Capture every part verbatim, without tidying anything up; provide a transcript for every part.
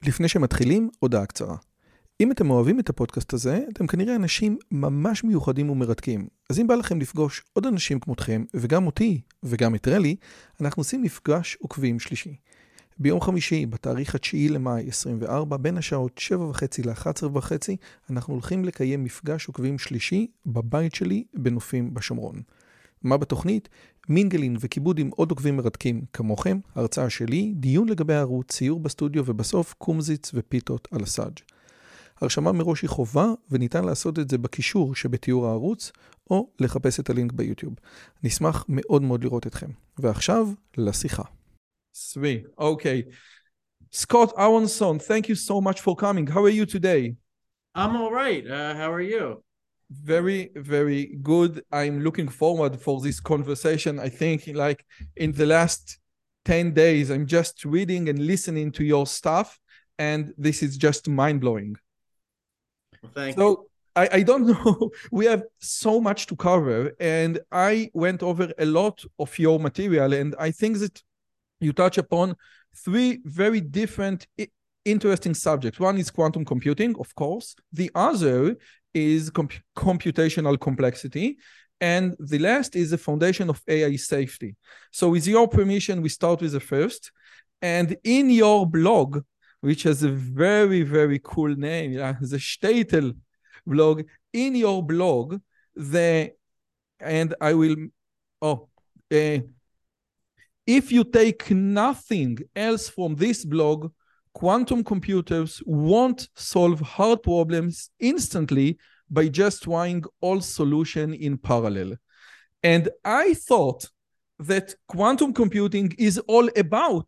לפני שמתחילים, הודעה קצרה. אם אתם אוהבים את הפודקאסט הזה, אתם כנראה אנשים ממש מיוחדים ומרתקים. אז אם בא לכם לפגוש עוד אנשים כמותכם, וגם אותי, וגם את רלי, אנחנו עושים מפגש עוקבים שלישי. ביום חמישי, בתאריך התשיעי למאי עשרים וארבע, בין השעות שבע וחצי ל-אחת עשרה וחצי, אנחנו הולכים לקיים מפגש עוקבים שלישי בבית שלי בנופים בשומרון. מה בתוכנית? מינגלין וכיבוד עם עוד עוקבים מרתקים כמוכם, הרצאה שלי, דיון לגבי הערוץ, ציור בסטודיו ובסוף קומזיץ ופיתות על הסאג'. הרשמה מראש היא חובה וניתן לעשות את זה בקישור שבתיאור הערוץ או לחפש את הלינק ביוטיוב. נשמח מאוד מאוד לראות אתכם. ועכשיו לשיחה. Sweet. Okay. Scott Aronson, thank you so much for coming. How are you today? I'm all right. Uh, how are you? Very, very good. I'm looking forward for this conversation. I think like in the last ten days, I'm just reading and listening to your stuff, and this is just mind-blowing. Well, thank so, you. I, I don't know. We have so much to cover, and I went over a lot of your material, and I think that you touch upon three very different, interesting subjects. One is quantum computing, of course. The other is comp- computational complexity. And the last is the foundation of A I safety. So with your permission, we start with the first. And in your blog, which has a very, very cool name, yeah, the Statel blog, in your blog, the, and I will, oh, uh, if you take nothing else from this blog, quantum computers won't solve hard problems instantly by just trying all solutions in parallel. And I thought that quantum computing is all about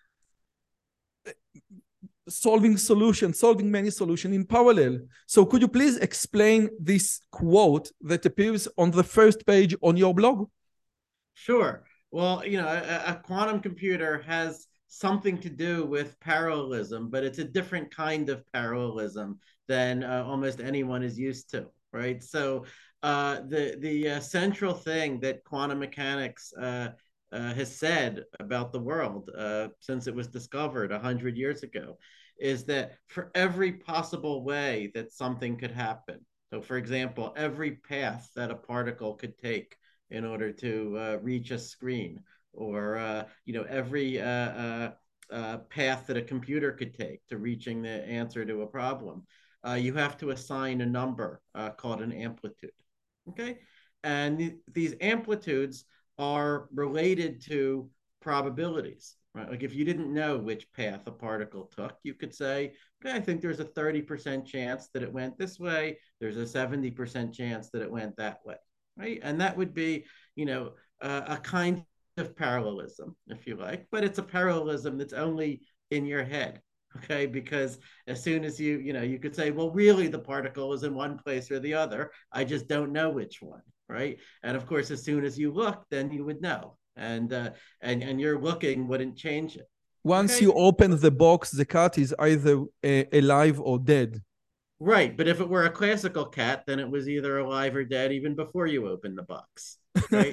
solving solutions, solving many solutions in parallel. So could you please explain this quote that appears on the first page on your blog? Sure. Well, you know, a, a quantum computer has something to do with parallelism, but it's a different kind of parallelism than uh, almost anyone is used to, right? So uh, the the uh, central thing that quantum mechanics uh, uh, has said about the world uh, since it was discovered a hundred years ago is that for every possible way that something could happen, so for example, every path that a particle could take in order to uh, reach a screen, or uh, you know, every uh, uh, uh, path that a computer could take to reaching the answer to a problem, uh, you have to assign a number uh, called an amplitude. Okay, and th- these amplitudes are related to probabilities. Right? Like if you didn't know which path a particle took, you could say, okay, I think there's a thirty percent chance that it went this way. There's a seventy percent chance that it went that way. Right? And that would be, you know, uh, a kind of parallelism, if you like, but it's a parallelism that's only in your head, okay? Because as soon as you, you know, you could say, well, really the particle is in one place or the other. I just don't know which one, right? And of course, as soon as you look, then you would know. And uh, and and your looking wouldn't change it. Once Okay. you open the box, the cat is either uh, alive or dead. Right, but if it were a classical cat, then it was either alive or dead even before you opened the box, right?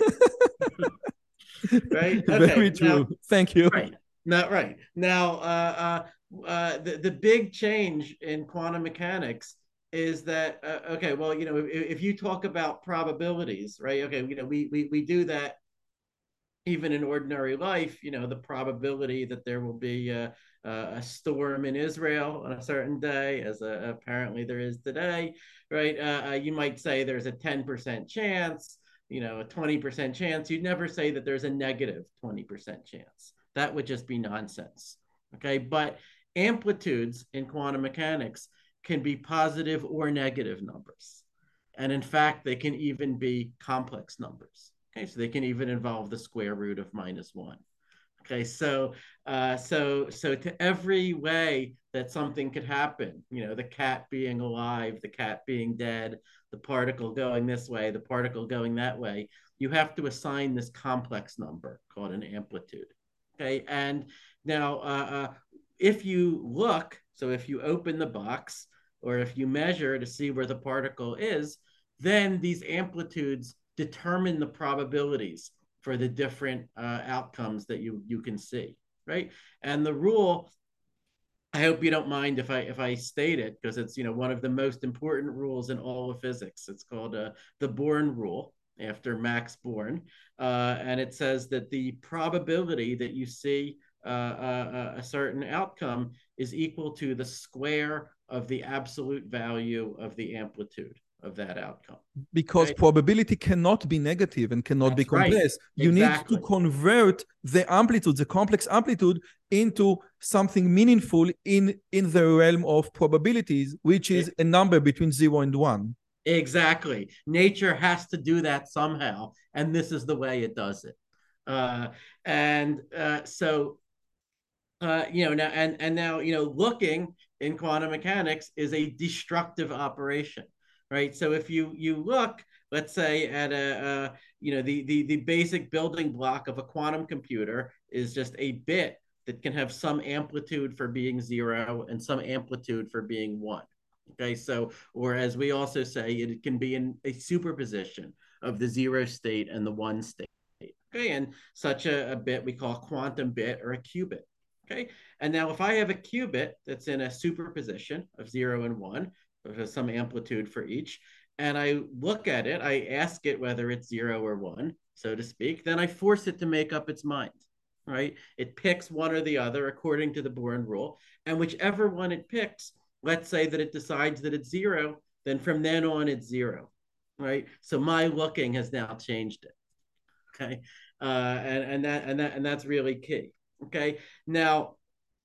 Right. Okay. Very Now, true. Thank you. right. Not right. Now, uh, uh, uh, the the big change in quantum mechanics is that uh, okay. Well, you know, if, if you talk about probabilities, right? Okay, you know, we we we do that even in ordinary life. You know, the probability that there will be a, a storm in Israel on a certain day, as a, apparently there is today, right? Uh, you might say there's a ten percent chance, you know, a twenty percent chance. You'd never say that there's a negative twenty percent chance. That would just be nonsense. Okay. But amplitudes in quantum mechanics can be positive or negative numbers. And in fact, they can even be complex numbers. Okay, so they can even involve the square root of minus one. Okay, so uh, so so to every way that something could happen, you know, the cat being alive, the cat being dead, the particle going this way, the particle going that way, you have to assign this complex number called an amplitude. Okay, and now uh, uh, if you look, so if you open the box or if you measure to see where the particle is, then these amplitudes determine the probabilities for the different uh, outcomes that you, you can see, right? And the rule I hope you don't mind if I if I state it, because it's, you know, one of the most important rules in all of physics. It's called uh, the Born rule, after Max Born, uh, and it says that the probability that you see uh, a, a certain outcome is equal to the square of the absolute value of the amplitude of that outcome. Because Okay? probability cannot be negative and cannot That's be complex. right. You Exactly. need to convert the amplitude, the complex amplitude, into something meaningful in, in the realm of probabilities, which is It, a number between zero and one. exactly. Nature has to do that somehow, and this is the way it does it. Uh, and uh, so uh, you know, now and and now, you know, looking in quantum mechanics is a destructive operation, right? So if you you look, let's say, at a, uh, you know, the the the basic building block of a quantum computer is just a bit that can have some amplitude for being zero and some amplitude for being one. Okay, so, or as we also say, it can be in a superposition of the zero state and the one state. Okay, and such a, a bit we call a quantum bit or a qubit. Okay, and now if I have a qubit that's in a superposition of zero and one, there's some amplitude for each, and I look at it, I ask it whether it's zero or one, so to speak, then I force it to make up its mind, right? It picks one or the other according to the Born rule, and whichever one it picks, let's say that it decides that it's zero, then from then on it's zero, right? So my looking has now changed it. Okay, uh, and and that and that and that's really key. Okay, now,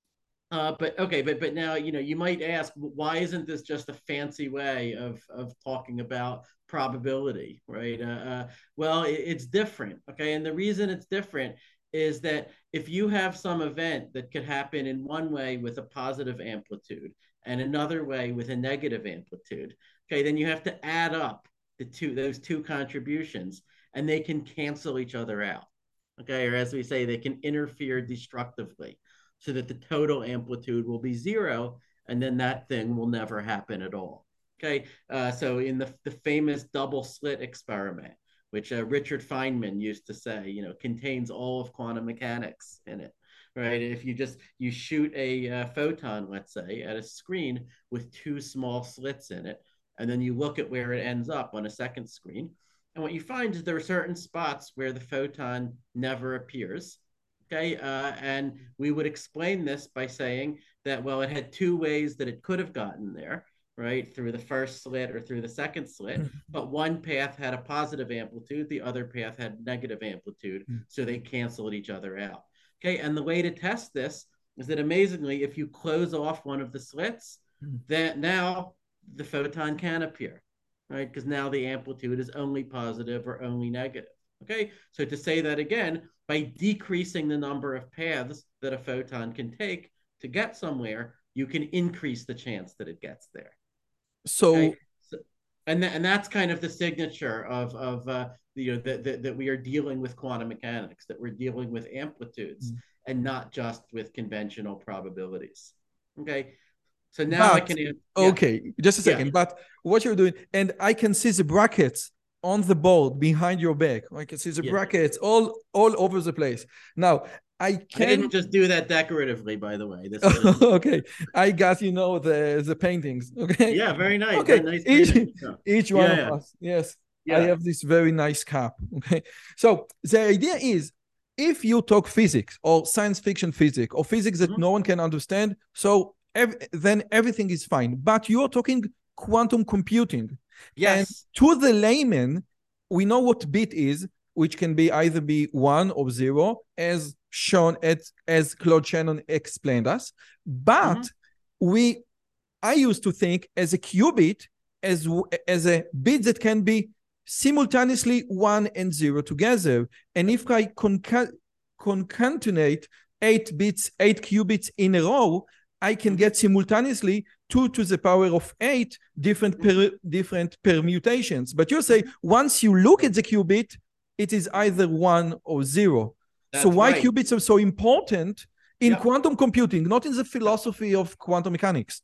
uh, but okay, but but now, you know, you might ask, why isn't this just a fancy way of of talking about probability, right? Uh, uh, well, it, it's different. Okay, and the reason it's different is that if you have some event that could happen in one way with a positive amplitude and another way with a negative amplitude, okay, then you have to add up the two those two contributions, and they can cancel each other out. Okay, or as we say, they can interfere destructively, so that the total amplitude will be zero, and then that thing will never happen at all. Okay, uh, so in the, the famous double slit experiment, which uh, Richard Feynman used to say, you know, contains all of quantum mechanics in it, right? If you just, you shoot a uh, photon, let's say, at a screen with two small slits in it, and then you look at where it ends up on a second screen, and what you find is there are certain spots where the photon never appears. Okay, uh, and we would explain this by saying that, well, it had two ways that it could have gotten there, right? Through the first slit or through the second slit, but one path had a positive amplitude, the other path had negative amplitude, so they canceled each other out. Okay, and the way to test this is that, amazingly, if you close off one of the slits, that now the photon can appear, right? Because now the amplitude is only positive or only negative. Okay, so to say that again, by decreasing the number of paths that a photon can take to get somewhere, you can increase the chance that it gets there. So, okay? So and, th- and that's kind of the signature of, of uh, you know, that, that, that we are dealing with quantum mechanics, that we're dealing with amplitudes mm-hmm. and not just with conventional probabilities. Okay, so now but, I can... Yeah. Okay, just a second. Yeah. But what you're doing, and I can see the brackets on the board behind your back. I can see the yeah. brackets all all over the place. Now, I can... I didn't just do that decoratively, by the way. This is... Okay, I got, you know, the the paintings. Okay. Yeah, very nice. Okay, very nice each, yeah. each one yeah, of yeah. us. Yes, yeah. I have this very nice cap. Okay, so the idea is, if you talk physics or science fiction physics or physics that mm-hmm. no one can understand, so ev- then everything is fine. But you're talking quantum computing. Yes. And to the layman, we know what bit is, which can be either be one or zero, as shown at as Claude Shannon explained us. But mm-hmm. we, I used to think as a qubit, as as a bit that can be simultaneously one and zero together. And if I conca- concatenate eight bits, eight qubits in a row, I can get simultaneously two to the power of eight different per, different permutations. But you say once you look at the qubit, it is either one or zero. That's so why right. qubits are so important in yep. quantum computing, not in the philosophy of quantum mechanics?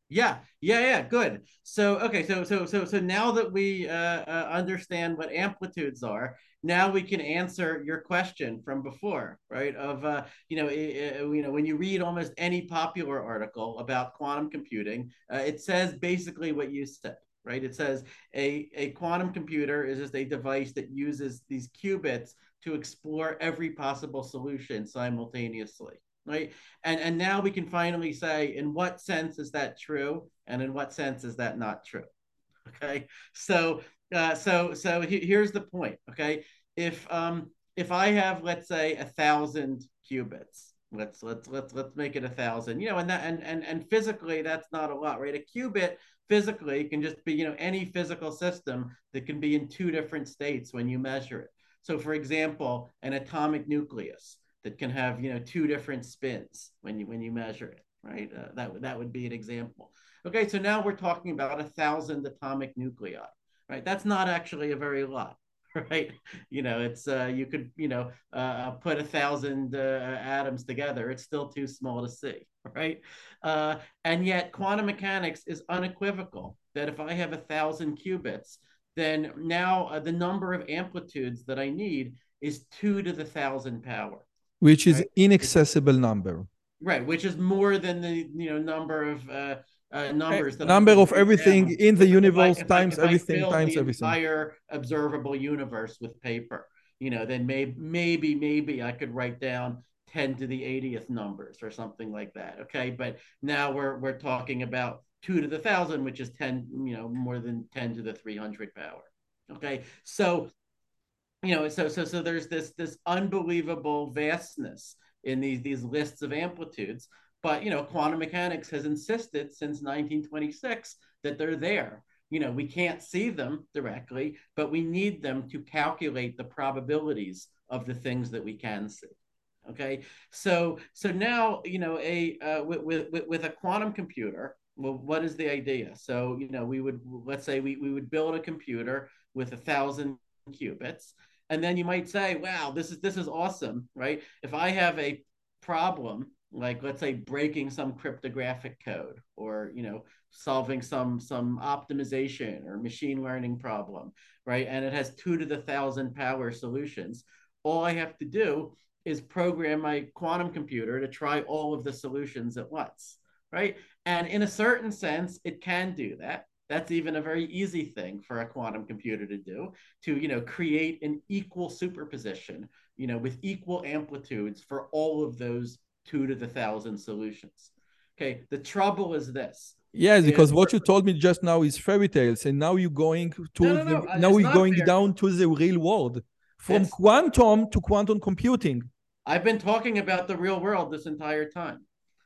Yeah, yeah, yeah. Good. So, okay, so so so so now that we uh, uh, understand what amplitudes are, now we can answer your question from before, right? Of uh, you know, uh, you know, when you read almost any popular article about quantum computing, uh, it says basically what you said, right? It says a a quantum computer is just a device that uses these qubits to explore every possible solution simultaneously, right? And and now we can finally say in what sense is that true, and in what sense is that not true. Okay, so uh, so so he, here's the point. Okay, if um if I have, let's say, a thousand qubits, let's let's let's let's make it a thousand, you know, and that and and and physically that's not a lot, right? A qubit physically can just be, you know, any physical system that can be in two different states when you measure it. So for example, an atomic nucleus that can have, you know, two different spins when you when you measure it, right? Uh, that that would be an example. Okay, so now we're talking about a thousand atomic nuclei, right? That's not actually a very lot, right? You know, it's uh, you could, you know, uh, put a thousand uh, atoms together. It's still too small to see, right? Uh, and yet, quantum mechanics is unequivocal that if I have a thousand qubits, then now uh, the number of amplitudes that I need is two to the thousand power, Which is right? It's inaccessible number. right, which is more than the, you know, number of uh, uh, Eh, numbers that I Number could of write everything down in the if if I universe if I times if I everything filled times the everything. entire observable universe with paper. You know, then maybe maybe maybe I could write down ten to the eightieth numbers or something like that. Okay, but now we're we're talking about two to the thousand, which is ten, you know, more than ten to the three hundred power. Okay, so you know, so so so there's this this unbelievable vastness in these these lists of amplitudes. But you know, quantum mechanics has insisted since nineteen twenty-six that they're there. You know, we can't see them directly, but we need them to calculate the probabilities of the things that we can see. Okay, so so now, you know, a uh, with, with with a quantum computer. Well, what is the idea? So you know, we would, let's say we we would build a computer with a thousand qubits, and then you might say, wow, this is this is awesome, right? If I have a problem, like let's say breaking some cryptographic code, or you know, solving some some optimization or machine learning problem, right? And it has two to the thousand power solutions. All I have to do is program my quantum computer to try all of the solutions at once, right? And in a certain sense, it can do that. That's even a very easy thing for a quantum computer to do, to, you know, create an equal superposition, you know, with equal amplitudes for all of those two to the thousand solutions. Okay, the trouble is this. Yes, Is because what you told me just now is fairy tales, and now you're going no, to no, no. the uh, now It's we're not going fair. down to the real world, from It's quantum to quantum computing. I've been talking about the real world this entire time.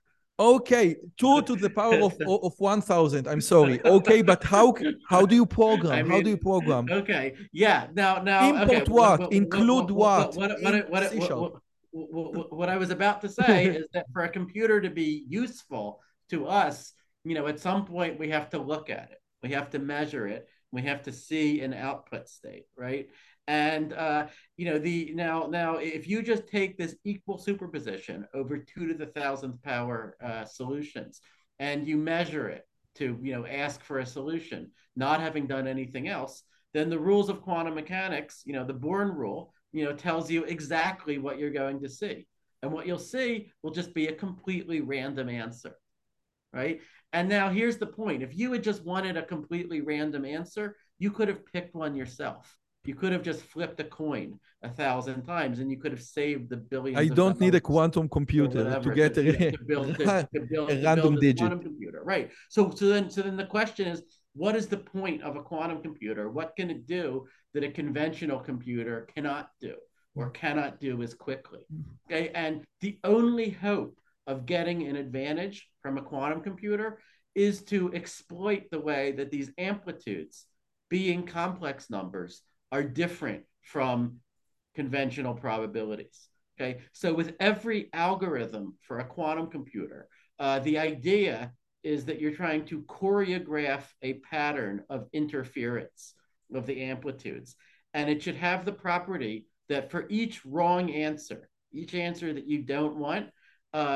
Okay, two to the power of of one thousand. I'm sorry. Okay, but how how do you program? I How do you mean, program? okay, yeah. Now, now, okay. Import What, what? what, Include what, what, what what, what, in what, what, C what, sharp? what, what, what I was about to say is that for a computer to be useful to us, you know, at some point we have to look at it, we have to measure it, we have to see an output state, right? And uh, you know, the now now if you just take this equal superposition over two to the thousandth power uh, solutions, and you measure it to, you know, ask for a solution, not having done anything else, then the rules of quantum mechanics, you know, the Born rule, you know, tells you exactly what you're going to see. And what you'll see will just be a completely random answer, right? And now here's the point. If you had just wanted a completely random answer, you could have picked one yourself. You could have just flipped a coin a thousand times, and you could have saved the I billions of don't need a dollars quantum or computer to whatever get to, you know, a, to build to, to build a to build random this digit. quantum computer, right? So so then so then the question is, what is the point of a quantum computer? What can it do that a conventional computer cannot do or cannot do as quickly? Okay, and the only hope of getting an advantage from a quantum computer is to exploit the way that these amplitudes, being complex numbers, are different from conventional probabilities. Okay, so with every algorithm for a quantum computer, uh, the idea is that you're trying to choreograph a pattern of interference of the amplitudes. And it should have the property that for each wrong answer, each answer that you don't want, uh,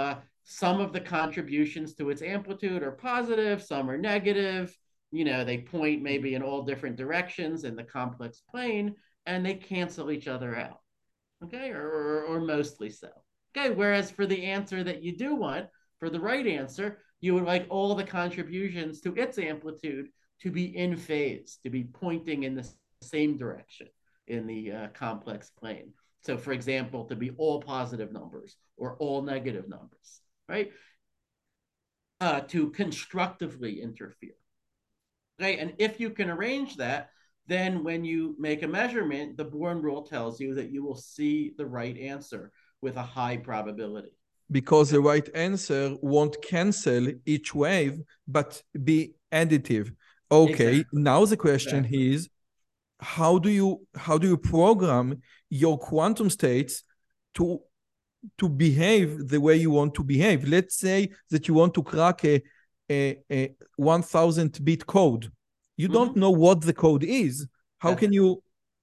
some of the contributions to its amplitude are positive, some are negative. You know, they point maybe in all different directions in the complex plane, and they cancel each other out. Okay, or, or, or mostly so. Okay, whereas for the answer that you do want, for the right answer, you would like all the contributions to its amplitude to be in phase, to be pointing in the same direction in the uh, complex plane. So, for example, to be all positive numbers or all negative numbers, right? Uh, to constructively interfere. Okay, and if you can arrange that, then when you make a measurement, the Born rule tells you that you will see the right answer with a high probability. Because the right answer won't cancel each wave, but be additive. Okay, exactly. now the question exactly. is, how do you how do you program your quantum states to to behave the way you want to behave? Let's say that you want to crack a a, a one thousand bit code. You don't mm-hmm. know what the code is. How That's can you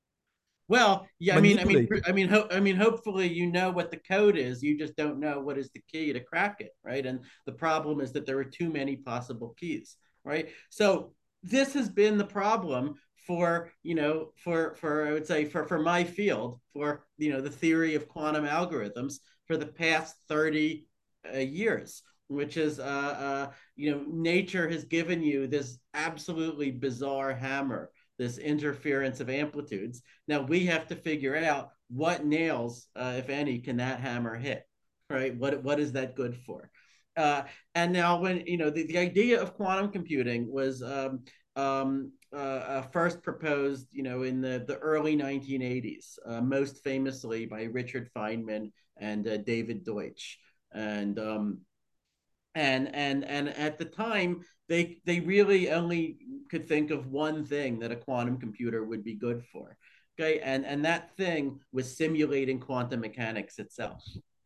Well, yeah, I mean, I mean, manipulate it? I mean, ho- I mean, hopefully you know what the code is. You just don't know what is the key to crack it, right? And the problem is that there are too many possible keys, right? So this has been the problem for, you know, for for I would say for for my field, for you know the theory of quantum algorithms for the past thirty uh, years, which is, uh, uh, you know, nature has given you this absolutely bizarre hammer, this interference of amplitudes. Now we have to figure out what nails, uh, if any, can that hammer hit, right? What what is that good for? Uh, and now when you know the, the idea of quantum computing was um, um, uh, uh, first proposed, you know, in the, the early nineteen eighties, uh, most famously by Richard Feynman and uh, David Deutsch. And um, and and and at the time they they really only could think of one thing that a quantum computer would be good for. Okay, and and that thing was simulating quantum mechanics itself.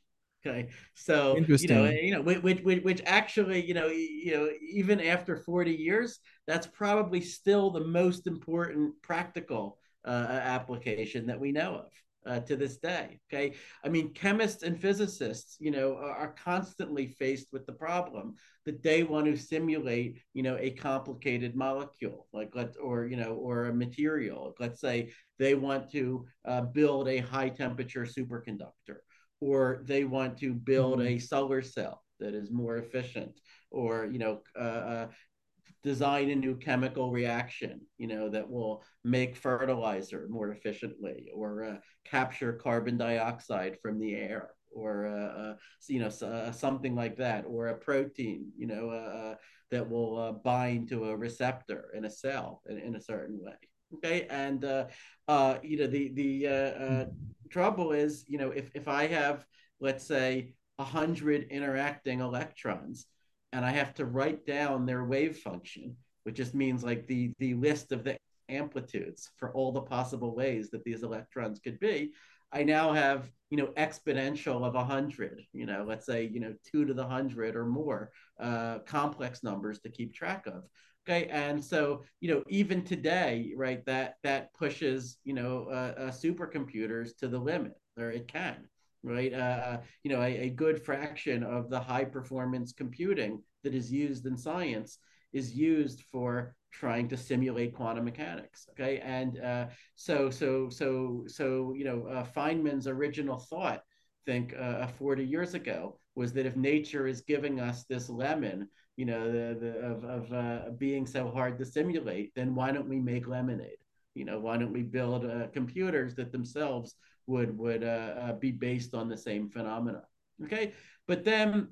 Okay, so you know, Interesting. you know, which, which, which actually, you know, you know, even after forty years, that's probably still the most important practical uh, application that we know of uh, to this day. Okay, I mean, chemists and physicists, you know, are, are constantly faced with the problem that they want to simulate, you know, a complicated molecule, like let or you know, or a material. Let's say they want to uh, build a high temperature superconductor, or they want to build Mhm. a solar cell that is more efficient, or you know uh, uh, design a new chemical reaction, you know, that will make fertilizer more efficiently, or uh, capture carbon dioxide from the air, or uh, uh, you know uh, something like that, or a protein, you know, uh, that will uh, bind to a receptor in a cell in, in a certain way. Okay, and uh, uh, you know the the uh, uh, trouble is, you know, if if I have, let's say, a hundred interacting electrons, and I have to write down their wave function, which just means like the the list of the amplitudes for all the possible ways that these electrons could be. I now have, you know, exponential of a hundred, you know, let's say, you know, two to the hundred or more uh, complex numbers to keep track of. Okay, and so, you know, even today, right, that that pushes, you know, uh, uh, supercomputers to the limit, or it can, right? Uh, you know, a, a good fraction of the high performance computing that is used in science is used for trying to simulate quantum mechanics. Okay, and uh, so so so so you know, uh, Feynman's original thought, I think uh, forty years ago, was that if nature is giving us this lemon, you know, the, the of of uh, being so hard to simulate, then why don't we make lemonade? You know, why don't we build uh, computers that themselves would would uh, uh, be based on the same phenomena? Okay, but then,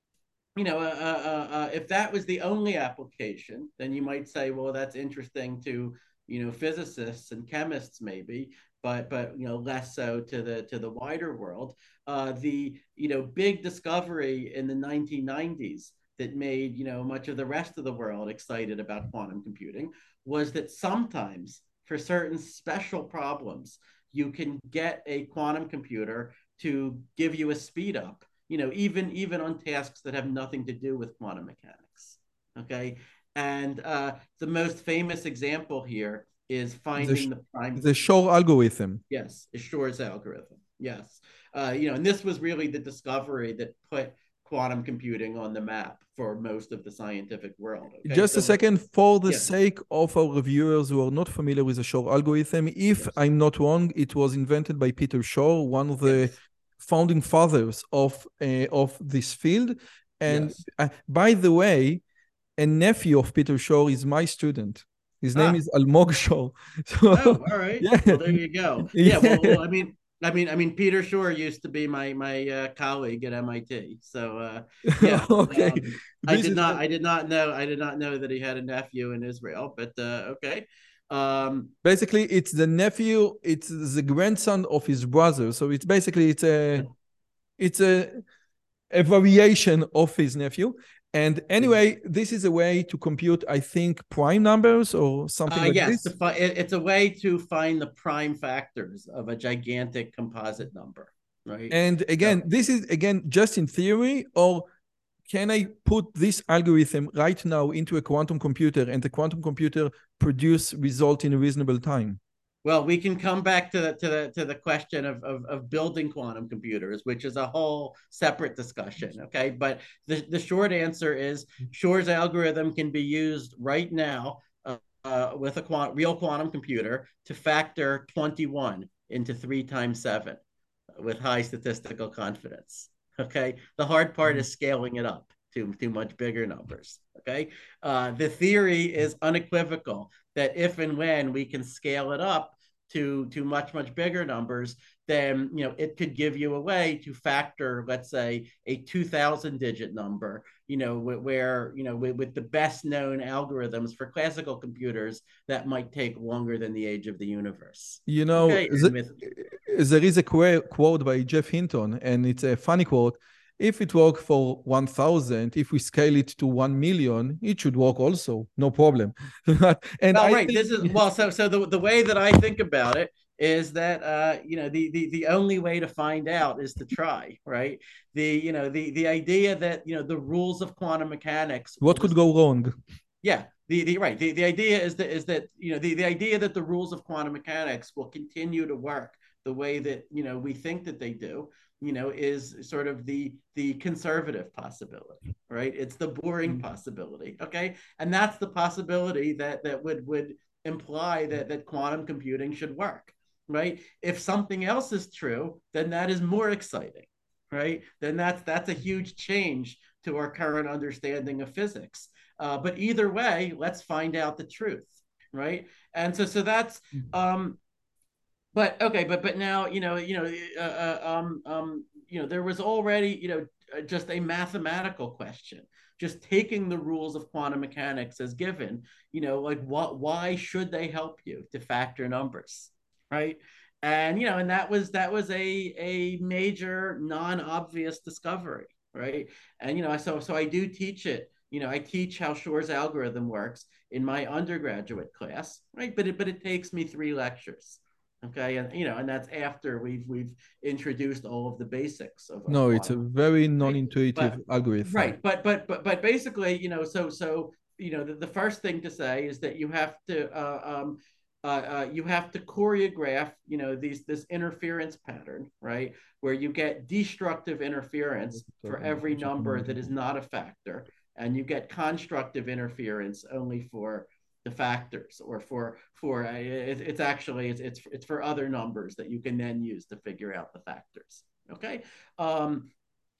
you know, uh, uh, uh, if that was the only application, then you might say, well, that's interesting to, you know, physicists and chemists maybe, but but you know, less so to the to the wider world. Uh, the you know big discovery in the nineteen nineties that made, you know, much of the rest of the world excited about quantum computing was that sometimes for certain special problems you can get a quantum computer to give you a speed up, you know, even even on tasks that have nothing to do with quantum mechanics. Okay, and uh, the most famous example here is The, finding the prime. the Shor algorithm. Yes, is Shor's algorithm. Yes, uh, you know, and this was really the discovery that put quantum computing on the map for most of the scientific world. Okay? Just so a second, for the yeah. sake of our viewers who are not familiar with the Shor algorithm, if Yes. I'm not wrong, it was invented by Peter Shor, one of the Yes. founding fathers of uh, of this field. And Yes. uh, by the way, a nephew of Peter Shor is my student. His name Ah. is Almog Shor. So, Oh, all right. yeah, Well, there you go. Yeah. Well, yeah. well, I mean, I mean, I mean, Peter Shor used to be my my uh, colleague at M I T. So, uh, yeah. Okay, Um, I this did is not, I did not know, I did not know that he had a nephew in Israel. But uh, okay. Um, basically it's the nephew, it's the grandson of his brother. So it's basically it's a it's a a variation of his nephew. And anyway, this is a way to compute, I think, prime numbers or something Uh, like yes, to this. fi- it, it's a way to find the prime factors of a gigantic composite number, right? And again, So, this is again just in theory, or can I put this algorithm right now into a quantum computer and the quantum computer produce result in a reasonable time? well, we can come back to the to the to the question of, of of building quantum computers, which is a whole separate discussion. Okay, but the the short answer is Shor's algorithm can be used right now uh, uh, with a quant- real quantum computer to factor twenty-one into three times seven with high statistical confidence. Okay, the hard part is scaling it up to, to much bigger numbers. Okay, uh, the theory is unequivocal that if and when we can scale it up to to much much bigger numbers, then you know it could give you a way to factor, let's say, a two thousand digit number. You know where you know with, with the best known algorithms for classical computers that might take longer than the age of the universe. You know, Okay, and the, with there is a quote by Jeff Hinton, and it's a funny quote. If it worked for one thousand, if we scale it to one million, it should work also, no problem. And Well, I right. think, This is well. So, so the the way that I think about it is that uh, you know the the the only way to find out is to try, right? The you know the the idea that you know the rules of quantum mechanics will what could just go wrong? yeah the the right the the idea is that is that you know the the idea that the rules of quantum mechanics will continue to work the way that you know we think that they do you know is sort of the the conservative possibility, right? It's the boring possibility. Okay, and that's the possibility that that would would imply that that quantum computing should work, right? If something else is true, then that is more exciting, right? Then that's that's a huge change to our current understanding of physics. Uh, but either way, let's find out the truth, right? And so so that's um, but okay, but but now you know you know uh, uh, um um you know there was already you know uh, just a mathematical question, just taking the rules of quantum mechanics as given, you know like what why should they help you to factor numbers, right? And you know and that was that was a a major non-obvious discovery, right? And you know so so I do teach it. You know I teach how Shor's algorithm works in my undergraduate class, right? But it but it takes me three lectures. Okay, and you know, and that's after we've we've introduced all of the basics of, of No, it's a quantum, very right? non-intuitive But algorithm. right, but but but but basically, you know, so so you know, the, the first thing to say is that you have to uh, um, uh, uh, you have to choreograph, you know, these this interference pattern, right, where you get destructive interference for every number that is not a factor, and you get constructive interference only for the factors, or for for uh, it, it's actually it's, it's it's for other numbers that you can then use to figure out the factors. Okay. um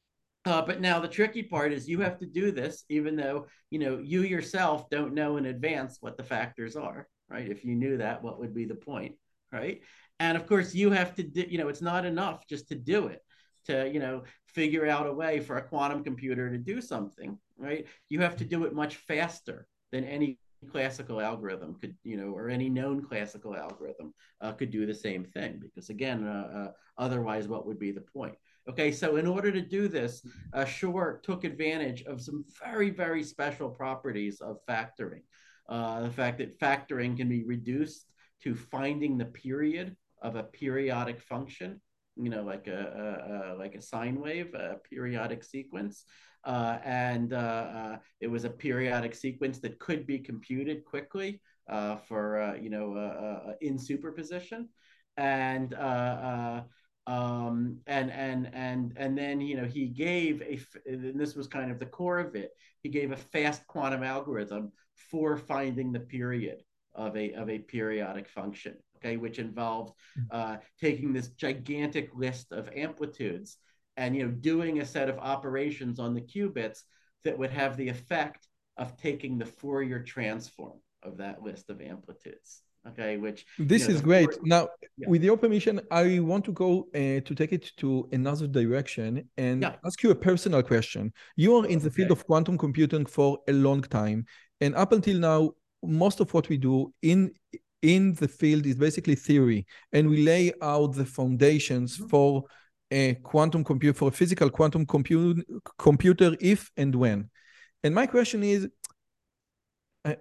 uh, but now the tricky part is you have to do this even though you know you yourself don't know in advance what the factors are, right? If you knew that, what would be the point, right? And of course you have to do, you know it's not enough just to do it, to you know figure out a way for a quantum computer to do something, right? You have to do it much faster than any classical algorithm could, you know or any known classical algorithm uh, could do the same thing, because again uh, uh, otherwise what would be the point? Okay, so in order to do this, uh, Shor took advantage of some very, very special properties of factoring. Uh, the fact that factoring can be reduced to finding the period of a periodic function, you know, like a, a, a like a sine wave, a periodic sequence. Uh, and uh, uh, it was a periodic sequence that could be computed quickly uh, for, uh, you know, uh, uh, in superposition. And uh, uh, Um, and and and and then you know he gave a, and this was kind of the core of it. He gave a fast quantum algorithm for finding the period of a of a periodic function. Okay, which involved uh, taking this gigantic list of amplitudes and you know doing a set of operations on the qubits that would have the effect of taking the Fourier transform of that list of amplitudes. Okay, which you This know is the great. Fourier, Now, yeah, with your permission, I want to go uh, to take it to another direction and yeah, ask you a personal question. You are in the field okay, of quantum computing for a long time, and up until now, most of what we do in in the field is basically theory, and we lay out the foundations mm-hmm. for a quantum computer, for a physical quantum compu computer, if and when. And my question is, uh,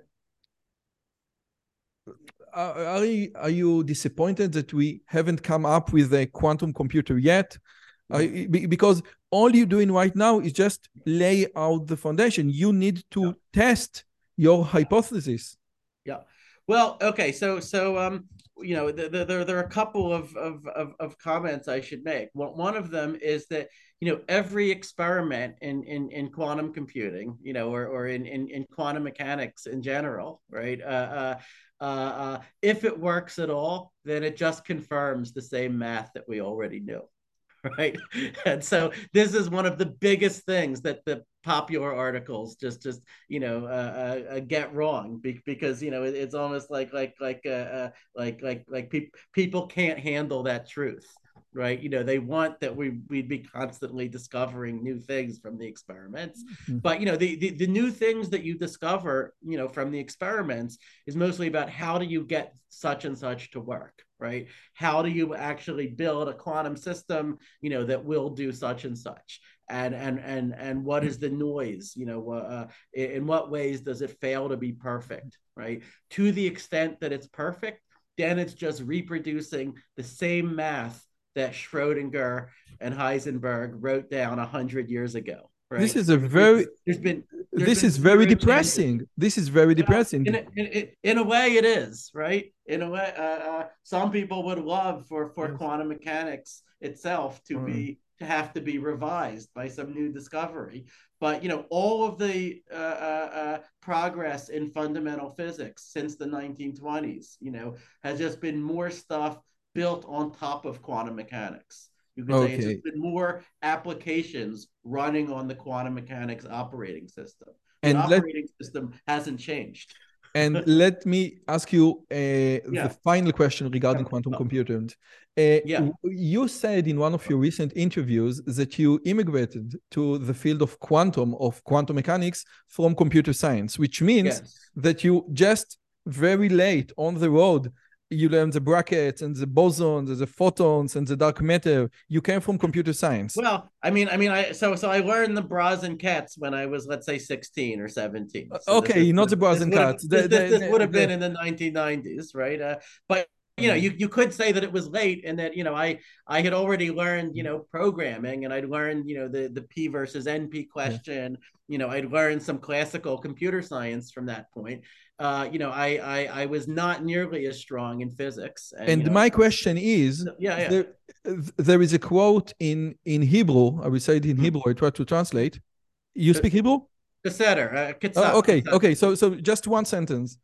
are, you, are you disappointed that we haven't come up with a quantum computer yet? Uh, because all you're doing right now is just lay out the foundation. You need to Yeah. test your hypothesis. Yeah. Well, okay. So, so, um, you know, there, there, there are a couple of, of, of, of comments I should make. Well, one of them is that, you know, every experiment in, in, in quantum computing, you know, or, or in, in, in quantum mechanics in general, right? Uh, uh, uh, uh, if it works at all, then it just confirms the same math that we already knew. Right, and so this is one of the biggest things that the popular articles just just you know uh, uh, get wrong be- because you know it, it's almost like like like uh, uh, like like like pe- people can't handle that truth, right? You know, they want that we we'd be constantly discovering new things from the experiments, Mhm. but you know the, the the new things that you discover you know from the experiments is mostly about how do you get such and such to work, right? How do you actually build a quantum system, you know, that will do such and such? And and and and what is the noise? You know, uh, in what ways does it fail to be perfect, right? To the extent that it's perfect, then it's just reproducing the same math that Schrodinger and Heisenberg wrote down a hundred years ago, This right? is a There's, very there's been there's this been is very zero changes. depressing. This is very Yeah, depressing. in a, in, in a way, it is, right. In a way, uh, uh, some people would love for for Yes. quantum mechanics itself to Mm. be to have to be revised by some new discovery. But you know, all of the uh, uh, uh, progress in fundamental physics since the nineteen twenties, you know, has just been more stuff built on top of quantum mechanics. You could say it's Okay. just been more applications running on the quantum mechanics operating system. The And let operating system hasn't changed. And let me ask you uh, the Yeah. final question regarding quantum Oh, computing. Uh, yeah. you said in one of your recent interviews that you immigrated to the field of quantum, of quantum mechanics from computer science, which means Yes. that you just very late on the road, you learned the brackets and the bosons and the photons and the dark matter. You came from computer science. Well, I mean, I mean, I so so I learned the bras and cats when I was, let's say, sixteen or seventeen. Uh, So this this Okay, not would the bras this and would have cats. this The, this the, this would the, have been the, in the nineteen nineties, right? Uh, but you know, um, you you could say that it was late, and that you know, I I had already learned you know programming, and I'd learned you know the the P versus N P yeah. question. You know, I'd learned some classical computer science from that point. Uh, you know, I, I I was not nearly as strong in physics, and you And know, my question is, yeah, yeah. there, there is a quote in, in Hebrew, I will say it in Hmm. Hebrew, I try to translate. You speak Hebrew? Beseder, uh, Oh, Kitzat, okay, Kitzat. okay, so, so just one sentence.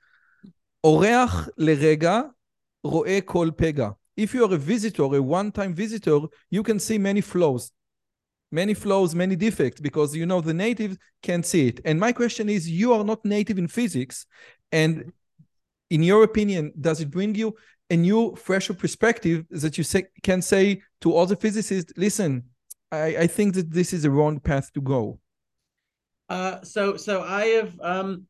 אורח לרגע רואה כל פגע. If you are a visitor, a one-time visitor, you can see many flaws. Many flaws, many defects, because you know the native can't see it. And my question is, you are not native in physics, and in your opinion, does it bring you a new, fresher perspective that you say, can say to other physicists, listen, I, I think that this is a wrong path to go? Uh, so so I have um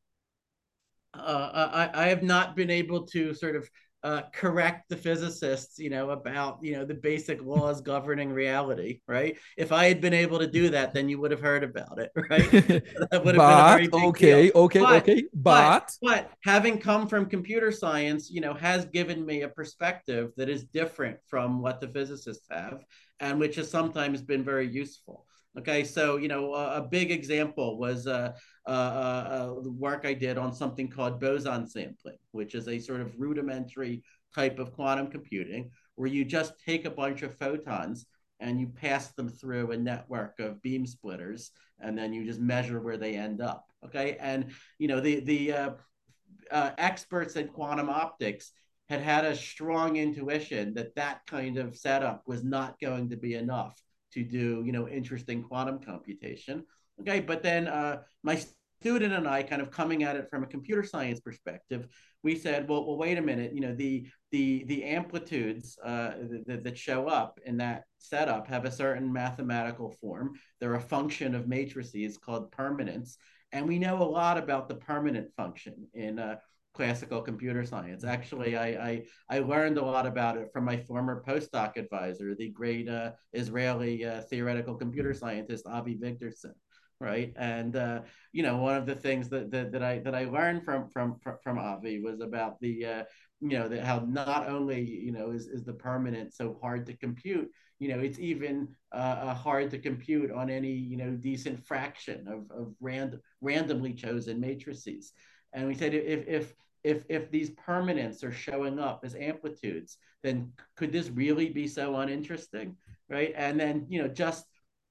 uh I, I have not been able to sort of uh, correct the physicists, you know, about you know the basic laws governing reality, right? If I had been able to do that, then you would have heard about it, right? That would have been a But, very big deal. okay, okay, But okay, but but, but having come from computer science, you know, has given me a perspective that is different from what the physicists have, and which has sometimes been very useful. Okay, so you know, a, a big example was uh, uh, uh, the work I did on something called boson sampling, which is a sort of rudimentary type of quantum computing, where you just take a bunch of photons and you pass them through a network of beam splitters, and then you just measure where they end up. Okay, and you know the the uh, uh, experts in quantum optics had had a strong intuition that that kind of setup was not going to be enough to do, you know, interesting quantum computation. Okay, but then uh, my student and I, kind of coming at it from a computer science perspective, we said, well, well, wait a minute, you know, the the the amplitudes uh, that, that show up in that setup have a certain mathematical form. They're a function of matrices called permanence, and we know a lot about the permanent function in uh, classical computer science. Actually, I, I I learned a lot about it from my former postdoc advisor, the great uh, Israeli uh, theoretical computer scientist Avi Vigderson. Right, and uh, you know, one of the things that, that that I that I learned from from from Avi was about the uh, you know, that how not only, you know, is is the permanent so hard to compute, you know, it's even uh, hard to compute on any, you know, decent fraction of of random randomly chosen matrices. And we said if if if if these permanents are showing up as amplitudes, then could this really be so uninteresting, right? And then, you know, just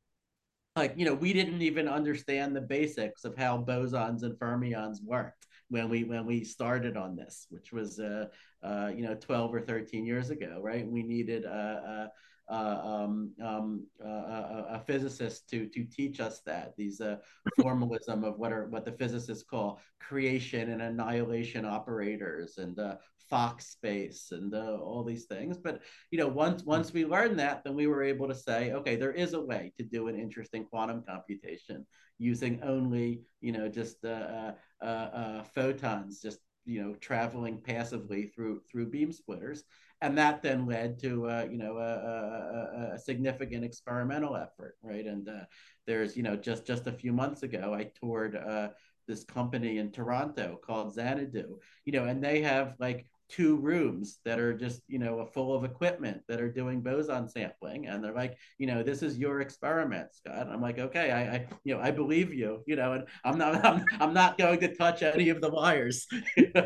like, you know, we didn't even understand the basics of how bosons and fermions worked when we when we started on this, which was uh, uh, you know, twelve or thirteen years ago, right? We needed a, a, a, um, um, a, a physicist to to teach us that, these uh, formalism of what are what the physicists call creation and annihilation operators, and uh, Fock space, and uh, all these things. But you know, once once we learned that, then we were able to say, okay, there is a way to do an interesting quantum computation using only, you know, just uh, uh, uh, photons, just, you know, traveling passively through through beam splitters. And that then led to uh, you know, a, a, a significant experimental effort, right? And uh, there's, you know, just just a few months ago, I toured uh, this company in Toronto called Xanadu, you know, and they have like two rooms that are just, you know, full of equipment that are doing boson sampling. And they're like, you know, this is your experiment, Scott. And I'm like, okay, I, I, you know, I believe you, you know, and I'm not, I'm, I'm not going to touch any of the wires. You know?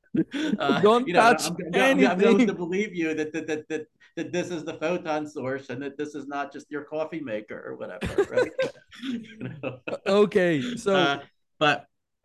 uh, Don't you know, touch I'm, I'm, I'm going to anything. believe you that, that, that, that, that this is the photon source, and that this is not just your coffee maker or whatever, right? You know? Okay, so uh, but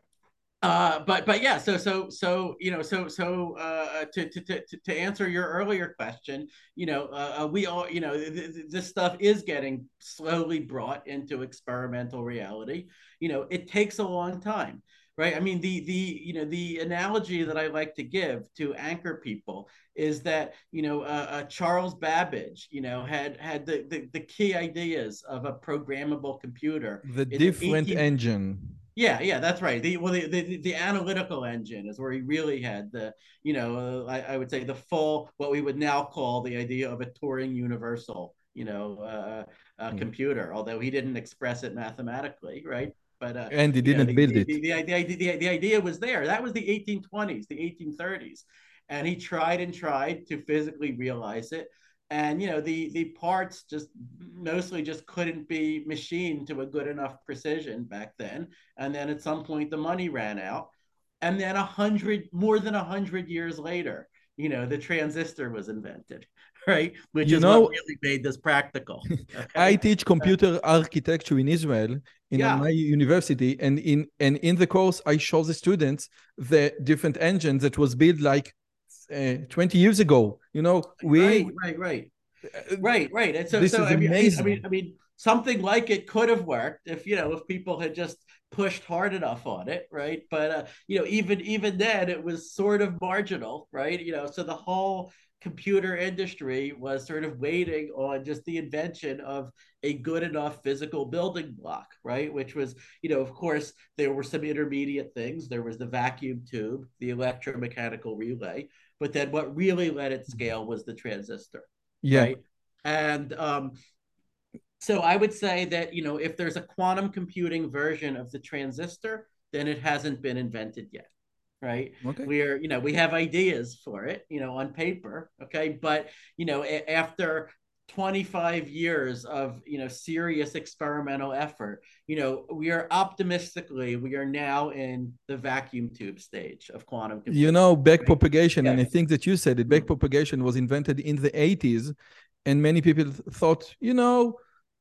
uh, but but yeah, so so so you know, so so uh, to, to to to answer your earlier question, you know, uh, we all, you know, th- th- this stuff is getting slowly brought into experimental reality. You know, it takes a long time, right? I mean, the the you know, the analogy that I like to give to anchor people is that, you know, uh, uh, Charles Babbage, you know, had had the, the the key ideas of a programmable computer the in the different eighteen. engine. Yeah, yeah, that's right. The well, the, the the analytical engine is where he really had the, you know, uh, I, I would say the full, what we would now call the idea of a Turing universal, you know, uh, uh, Hmm. computer. Although he didn't express it mathematically, right? But uh, And he you know, didn't the build the, it. the the idea the, the idea was there. That was the eighteen twenties, the eighteen thirties, and he tried and tried to physically realize it. And you know, the the parts just mostly just couldn't be machined to a good enough precision back then. And then at some point the money ran out, and then a hundred more than a hundred years later, you know, the transistor was invented, right? Which You is what know, really made this practical. I Okay. teach Uh, computer architecture in Israel in uh, yeah. my university, and in and in the course I show the students the different engines that was built like uh, twenty years ago. You know, we Right, right, right. uh, Right, right. And so, this so is I mean, I mean, I mean, amazing. I mean, something like it could have worked if, you know, if people had just pushed hard enough on it, right? But uh, you know, even even then, it was sort of marginal, right? You know, so the whole computer industry was sort of waiting on just the invention of a good enough physical building block, right? Which was, you know, of course, there were some intermediate things. There was the vacuum tube, the electromechanical relay, but then what really let it scale was the transistor, Yeah. right? And um, so I would say that, you know, if there's a quantum computing version of the transistor, then it hasn't been invented yet, right? Okay. We're, you know, we have ideas for it, you know, on paper, okay? But, you know, after twenty-five years of, you know, serious experimental effort, you know, we are optimistically, we are now in the vacuum tube stage of quantum You computing. know, Right? backpropagation, and Yeah. I think that you said it, Mm. backpropagation was invented in the eighties, and many people thought, you know,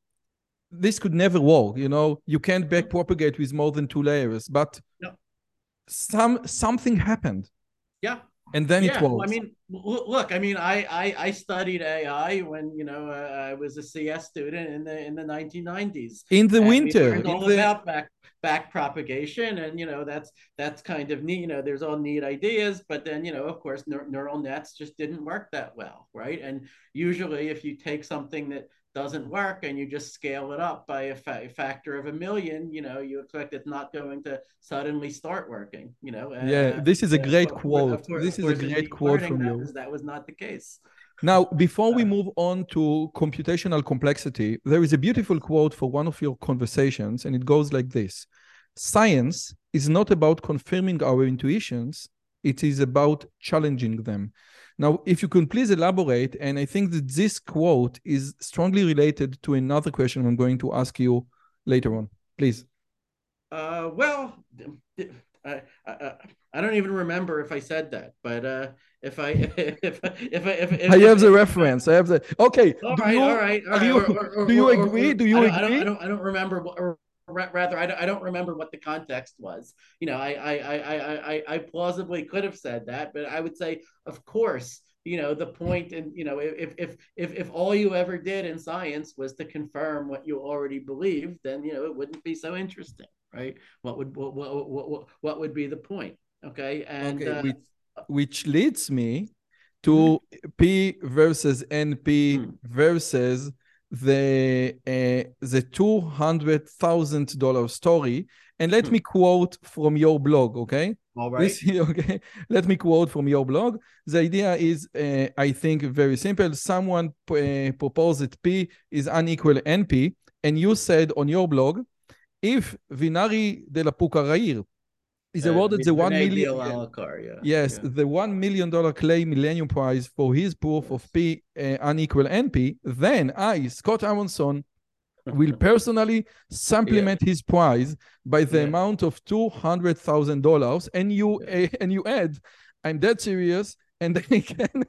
this could never work. You know, you can't backpropagate with more than two layers, but No. some something happened, Yeah. and then it Yeah, well, I works. mean, look, I mean, I, I I studied A I when, you know, uh, I was a C S student in the in the nineteen nineties, In the and we winter, learned in all the about back back propagation, and you know, that's that's kind of neat. You know, there's all neat ideas, but then, you know, of course, neur- neural nets just didn't work that well, right? And usually, if you take something that doesn't work and you just scale it up by a, fa- factor of a million, you know, you expect it's not going to suddenly start working, you know. yeah, Uh, this is a uh, great of course, of quote. course, This of is a course, in great deep quote learning, from that you. was that was not the case. Now, before we Uh, move on to computational complexity, there is a beautiful quote for one of your conversations, and it goes like this: Science is not about confirming our intuitions, it is about challenging them. Now, if you can please elaborate, and I think that this quote is strongly related to another question I'm going to ask you later on. Please. uh, well, I, I I don't even remember if I said that, but uh, if I if if if if I if, have the if, if I, reference. I have the okay. all Do right, all you right, all are right, you or or, or, do you or, or, agree? or Do I you don't I don't I agree? don't I don't remember what. Or, rather I don't, I don't remember what the context was. You know, I, I I I I plausibly could have said that, but I would say, of course, you know, the point, and you know, if if if if all you ever did in science was to confirm what you already believed, then, you know, it wouldn't be so interesting, right? What would what what what, what would be the point? Okay, and Okay, uh, which which leads me mm-hmm. to P versus N P Mm, versus the uh, the two hundred thousand dollar story. And let mm. me quote from your blog, okay? All right. This okay. Let me quote from your blog. The idea is, uh, I think, very simple. Someone uh, proposed that P is unequal N P, and you said on your blog, if Vinari de la Pucarrair is Uh, awarded the one Vinay million. Yeah, Bialalkar, yeah, yes, yeah. the one million dollar Clay Millennium Prize for his proof of Yes. P uh, unequal N P, then I, Scott Aronson, will personally Yeah, supplement his prize by the yeah. amount of two hundred thousand dollars, and you Yeah. uh, and you add, I'm dead serious, and they can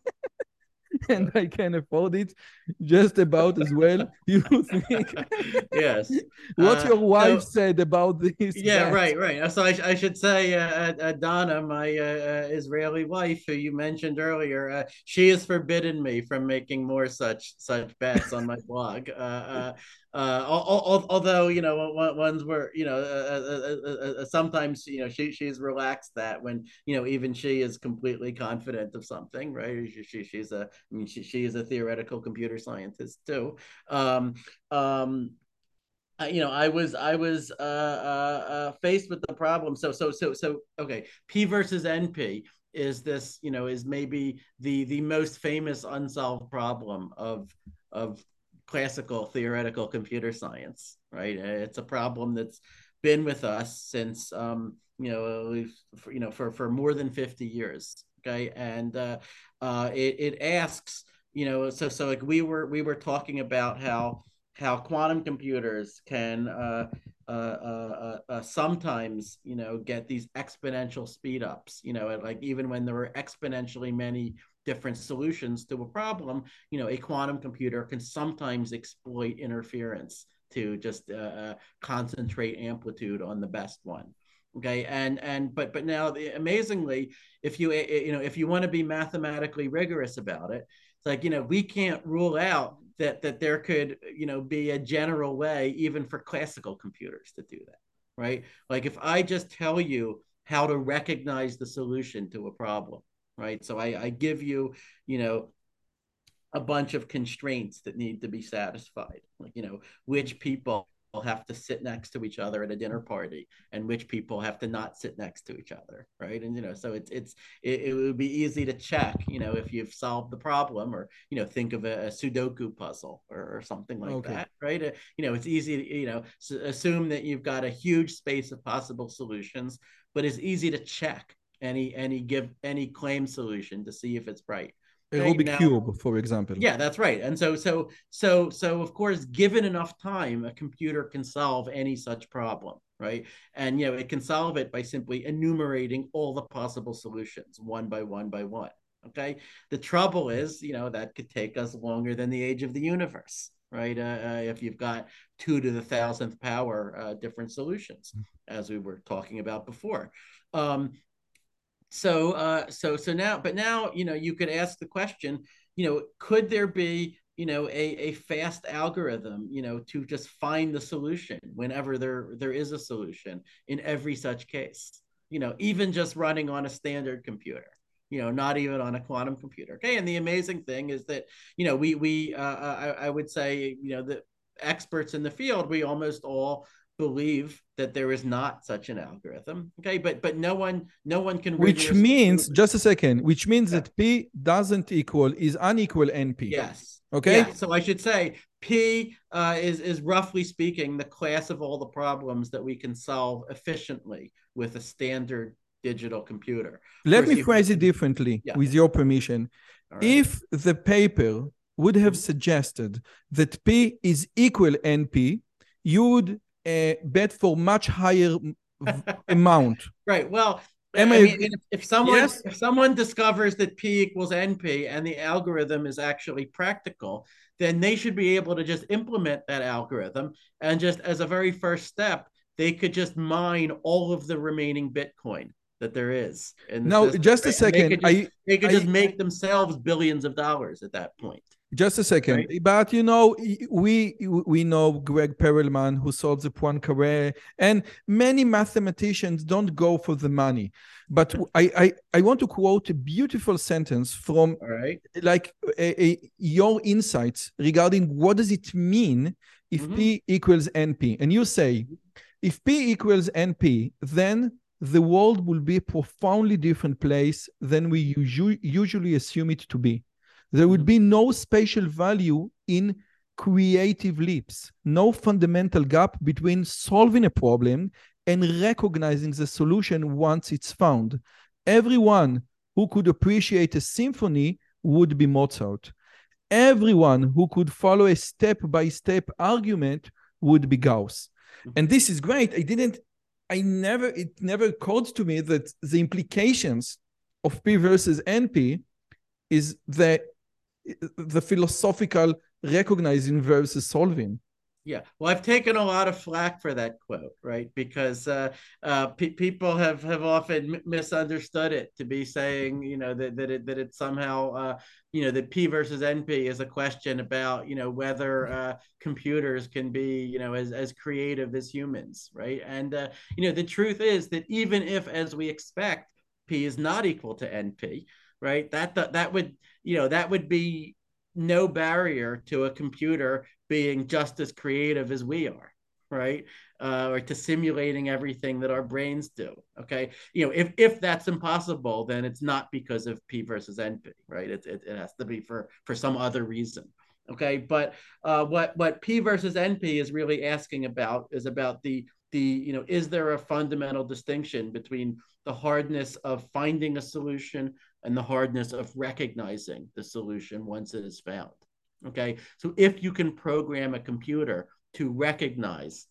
and Yeah. I can afford it just about as well. You think Yes. what Uh, your wife so said about this yeah, bet? right, right. So I, I should say, uh, uh, Donna, my uh, uh, Israeli wife, who you mentioned earlier, uh, she has forbidden me from making more such such bets on my blog. Uh, uh, uh, although, you know, ones were, you know, uh, uh, uh, uh, sometimes, you know, she she's relaxed that when, you know, even she is completely confident of something, right? She, she she's a I mean she she is a theoretical computer scientist too. Um, um, uh, you know, I was I was uh, uh, uh, faced with the problem. So so so so okay, P versus N P is this, you know, is maybe the the most famous unsolved problem of of classical theoretical computer science, right? It's a problem that's been with us since um, you know, we've, for, you know, for for more than fifty years. Okay, and uh, uh, it it asks, you know, so so like we were we were talking about how how quantum computers can uh, uh, uh, uh, sometimes, you know, get these exponential speed ups, you know, like even when there are exponentially many different solutions to a problem, you know, a quantum computer can sometimes exploit interference to just uh, uh, concentrate amplitude on the best one. Okay, and and but but now the, amazingly, if you you know if you want to be mathematically rigorous about it, it's like, you know, we can't rule out that that there could, you know, be a general way even for classical computers to do that, right? Like if I just tell you how to recognize the solution to a problem, right? So I, I give you, you know, a bunch of constraints that need to be satisfied, like, you know, which people have to sit next to each other at a dinner party and which people have to not sit next to each other, right? And, you know, so it's it's it, it would be easy to check, you know, if you've solved the problem, or, you know, think of a, a Sudoku puzzle, or, or something like Okay. that, right? Uh, you know, it's easy to, you know, assume that you've got a huge space of possible solutions, but it's easy to check any any give any claim solution to see if it's right. A Okay, Rubik now cube, for example. yeah, that's right. And so so so so of course, given enough time, a computer can solve any such problem, right? And you know, it can solve it by simply enumerating all the possible solutions one by one by one. Okay. The trouble is, you know, that could take us longer than the age of the universe, right? Uh, uh, if you've got two to the thousandth power uh, different solutions, as we were talking about before. Um, so uh so so now but now you know you could ask the question, you know could there be you know a, a fast algorithm you know to just find the solution whenever there there is a solution in every such case, you know even just running on a standard computer, you know not even on a quantum computer. Okay, and the amazing thing is that you know we we uh, I, I would say you know the experts in the field, we almost all believe that there is not such an algorithm. Okay, but but no one no one can Which rigorously means, prove it. just a second, which means Yeah. that P doesn't equal, is unequal N P. Yes. Okay? Yeah. So I should say P uh, is is roughly speaking the class of all the problems that we can solve efficiently with a standard digital computer. Of Let course, me you phrase it differently, yeah. with your permission. All right. If the paper would have Mhm. suggested that P is equal N P, you would uh, bet for much higher amount. Right. Well, Am I I mean, agree? if, if someone Yes? if someone discovers that P equals N P and the algorithm is actually practical, then they should be able to just implement that algorithm, and just as a very first step, they could just mine all of the remaining Bitcoin that there is in the Now, system, just a right? And they second. could just I, they could just I, make themselves billions of dollars at that point. Just a second, Right. but you know, we we know Greg Perelman, who solved the Poincare, and many mathematicians don't go for the money. But I I, I want to quote a beautiful sentence from All right. like a, a, your insights regarding what does it mean if Mm-hmm. P equals N P, and you say if P equals N P, then the world will be a profoundly different place than we usually usually assume it to be. There would be no spatial value in creative leaps, no fundamental gap between solving a problem and recognizing the solution once it's found. Everyone who could appreciate a symphony would be Mozart. Everyone who could follow a step-by-step argument would be Gauss. And this is great. I didn't, I never, it never occurred to me that the implications of P versus N P is that the philosophical recognizing versus solving. Yeah, well, I've taken a lot of flack for that quote, right? Because uh, uh, pe- people have have often m- misunderstood it to be saying, you know, that that it that it somehow, uh, you know, that P versus N P is a question about, you know, whether uh, computers can be, you know, as as creative as humans, right? And uh, you know, the truth is that even if, as we expect, P is not equal to N P, right? That that that would, you know, that would be no barrier to a computer being just as creative as we are, right? Uh, or to simulating everything that our brains do. Okay, you know, if if that's impossible, then it's not because of P versus N P, right? It it, it has to be for for some other reason. Okay, but uh, what what P versus N P is really asking about is about the the you know is there a fundamental distinction between the hardness of finding a solution and the hardness of recognizing the solution once it is found. Okay, so if you can program a computer to recognize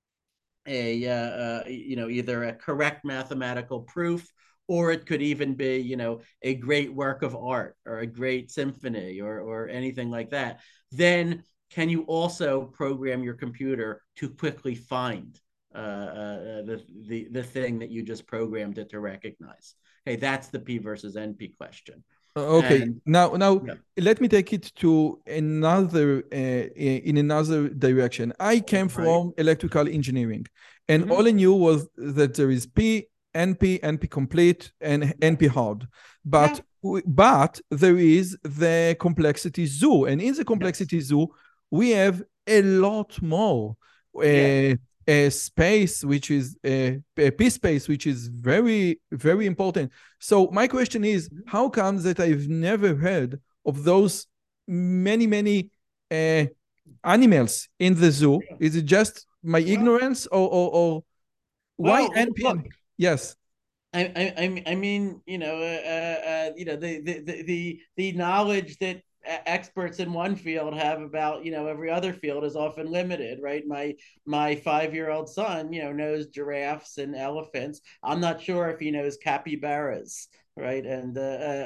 a uh, uh, you know either a correct mathematical proof, or it could even be you know a great work of art or a great symphony or or anything like that, then can you also program your computer to quickly find uh, uh, the, the the thing that you just programmed it to recognize? Okay, that's the P versus N P question. Okay, And now now yeah. let me take it to another uh, in another direction. I came Right. from electrical engineering, and Mhm. all I knew was that there is P, N P, N P complete, and N P hard. But Yeah. but there is the complexity zoo, and in the complexity Yes. zoo, we have a lot more. Uh, Yeah. a space which is a, a P space which is very very important. So my question is, how comes that I've never heard of those many many uh, animals in the zoo? Is it just my Well, ignorance, or or, or why well, N P N? look, Yes. I, I, I mean, you know, uh, uh, you know, the, the, the, the knowledge that experts in one field have about, you know, every other field is often limited, right? My, my five-year-old son, you know, knows giraffes and elephants. I'm not sure if he knows capybaras, right? And, uh,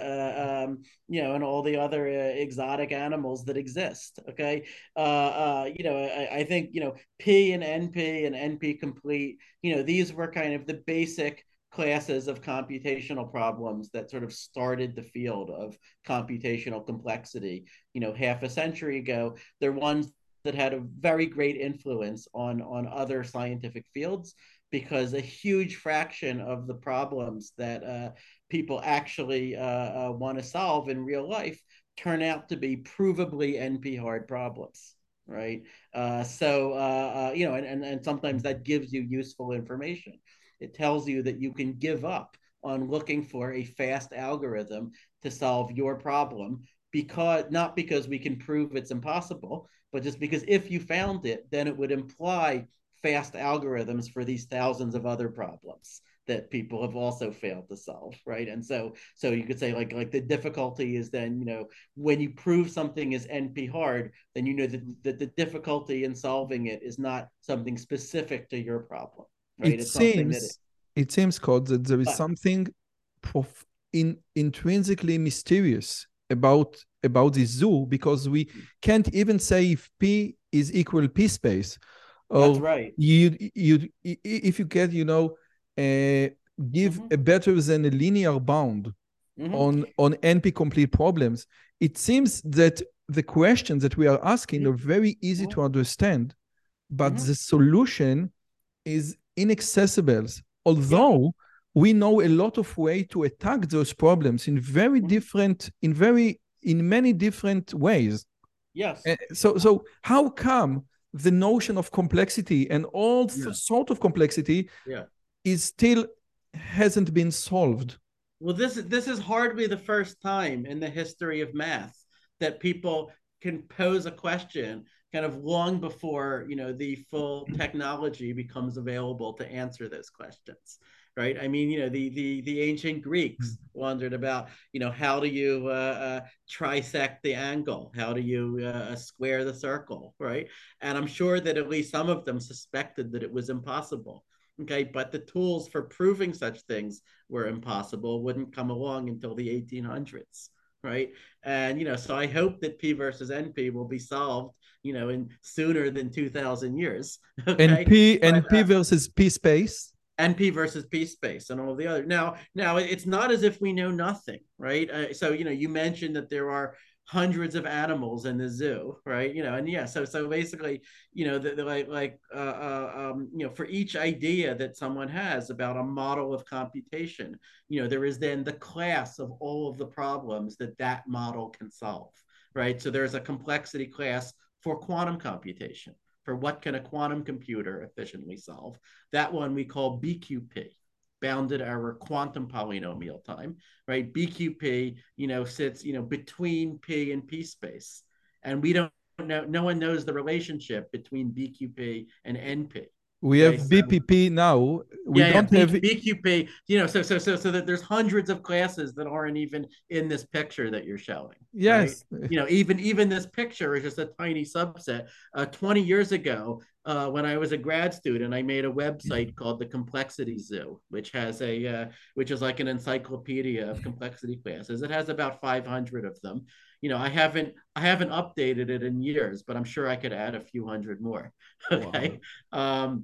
uh, um, you know, and all the other uh, exotic animals that exist. Okay. Uh, uh, you know, I, I think, you know, P and N P and N P complete, you know, these were kind of the basic classes of computational problems that sort of started the field of computational complexity, you know, half a century ago. They're ones that had a very great influence on, on other scientific fields, because a huge fraction of the problems that uh, people actually uh, uh, want to solve in real life turn out to be provably N P hard problems, right? Uh, so, uh, uh, you know, and, and, and sometimes that gives you useful information. It tells you that you can give up on looking for a fast algorithm to solve your problem, because not because we can prove it's impossible, but just because if you found it, then it would imply fast algorithms for these thousands of other problems that people have also failed to solve, right? And so so you could say like like the difficulty is then, you know, when you prove something is N P hard, then you know that, that the difficulty in solving it is not something specific to your problem, right? It It's something that it, seems, it seems, Scott, that there is but something prof- in, intrinsically mysterious about about the zoo, because we can't even say if P is equal P space, that's or right. you you if you get, you know, uh, give Mm-hmm. a better than a linear bound Mm-hmm. on on N P complete problems. It seems that the questions that we are asking are very easy to understand, but Mm-hmm. the solution is inaccessible, Yeah. although we know a lot of way to attack those problems in very Mm-hmm. different, in very, in many different ways. Yes. Uh, so so how come the notion of complexity and all th- Yeah. sort of complexity Yeah. is still hasn't been solved? Well, this this is hardly the first time in the history of math that people can pose a question kind of long before, you know, the full technology becomes available to answer those questions, right? I mean, you know, the the the ancient Greeks wondered about, you know, how do you uh, uh, trisect the angle? How do you uh, square the circle, right? And I'm sure that at least some of them suspected that it was impossible. Okay, but the tools for proving such things were impossible wouldn't come along until the eighteen hundreds, right? And, you know, so I hope that P versus N P will be solved, you know, in sooner than two thousand years. And Okay. P But and P uh, versus P space. N P versus P space and all the other. Now, now it's not as if we know nothing, right? Uh, so, you know, you mentioned that there are hundreds of animals in the zoo, right? You know, and yeah, so so basically, you know, the, the like like uh, uh, um, you know, for each idea that someone has about a model of computation, you know, there is then the class of all of the problems that that model can solve, right? So there's a complexity class for quantum computation, for what can a quantum computer efficiently solve. That one we call B Q P, bounded error quantum polynomial time, right? B Q P, you know, sits, you know, between P and P space. And we don't know, no one knows the relationship between B Q P and N P. We Okay, have so B P P now. We yeah, yeah, don't B, have. BQP, you know, so so so so that there's hundreds of classes that aren't even in this picture that you're showing, right? Yes. You know, even even this picture is just a tiny subset. Uh, twenty years ago, uh, when I was a grad student, I made a website called the Complexity Zoo, which has a uh, which is like an encyclopedia of complexity classes. It has about five hundred of them. You know, I haven't I haven't updated it in years, but I'm sure I could add a few hundred more. Wow. Okay. Um,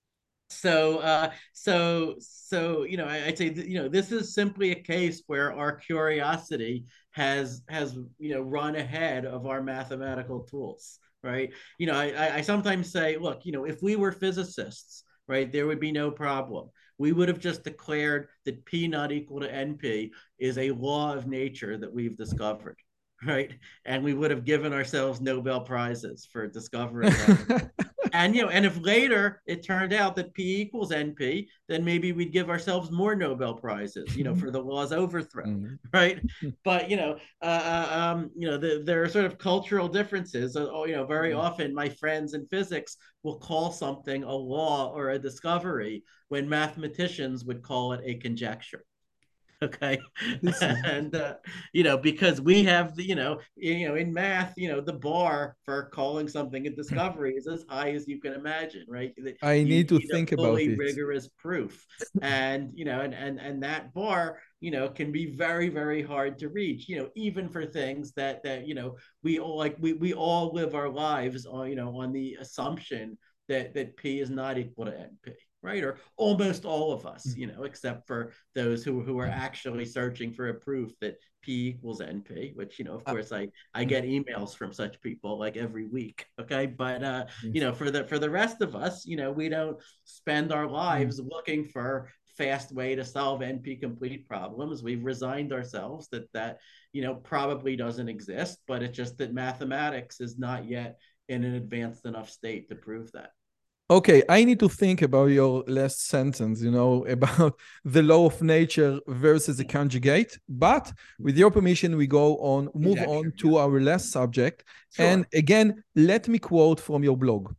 so uh so so you know I, i'd say that, you know, this is simply a case where our curiosity has has you know run ahead of our mathematical tools, right? You know, i i sometimes say, look, you know, if we were physicists, right, there would be no problem. We would have just declared that P not equal to NP is a law of nature that we've discovered, right? And we would have given ourselves Nobel prizes for discovering that. And you know, and if later it turned out that P equals N P, then maybe we'd give ourselves more Nobel prizes, you know, for the law's overthrow, Mm. right? But you know, uh, um, you know, the, there are sort of cultural differences. Uh, you know, very often my friends in physics will call something a law or a discovery when mathematicians would call it a conjecture. Okay. This is And uh, you know, because we have the, you know, you know, in math, you know, the bar for calling something a discovery is as high as you can imagine, right? I You need to need a think about fully it. rigorous proof. And you know, and and and that bar, you know, can be very, very hard to reach, you know, even for things that that, you know, we all like we we all live our lives on, you know, on the assumption that that P is not equal to N P, right? Or almost all of us, you know, except for those who, who are actually searching for a proof that P equals N P, which, you know, of Uh, course I, I get emails from such people like every week. Okay. But, uh, you yes. know, for the, for the rest of us, you know, we don't spend our Mm. lives looking for fast way to solve N P complete problems. We've resigned ourselves that that, you know, probably doesn't exist, but it's just that mathematics is not yet in an advanced enough state to prove that. Okay, I need to think about your last sentence, you know, about the law of nature versus the conjugate. But with your permission, we go on, move on Conjecture, yeah. to our last subject. And Sure. again, let me quote from your blog.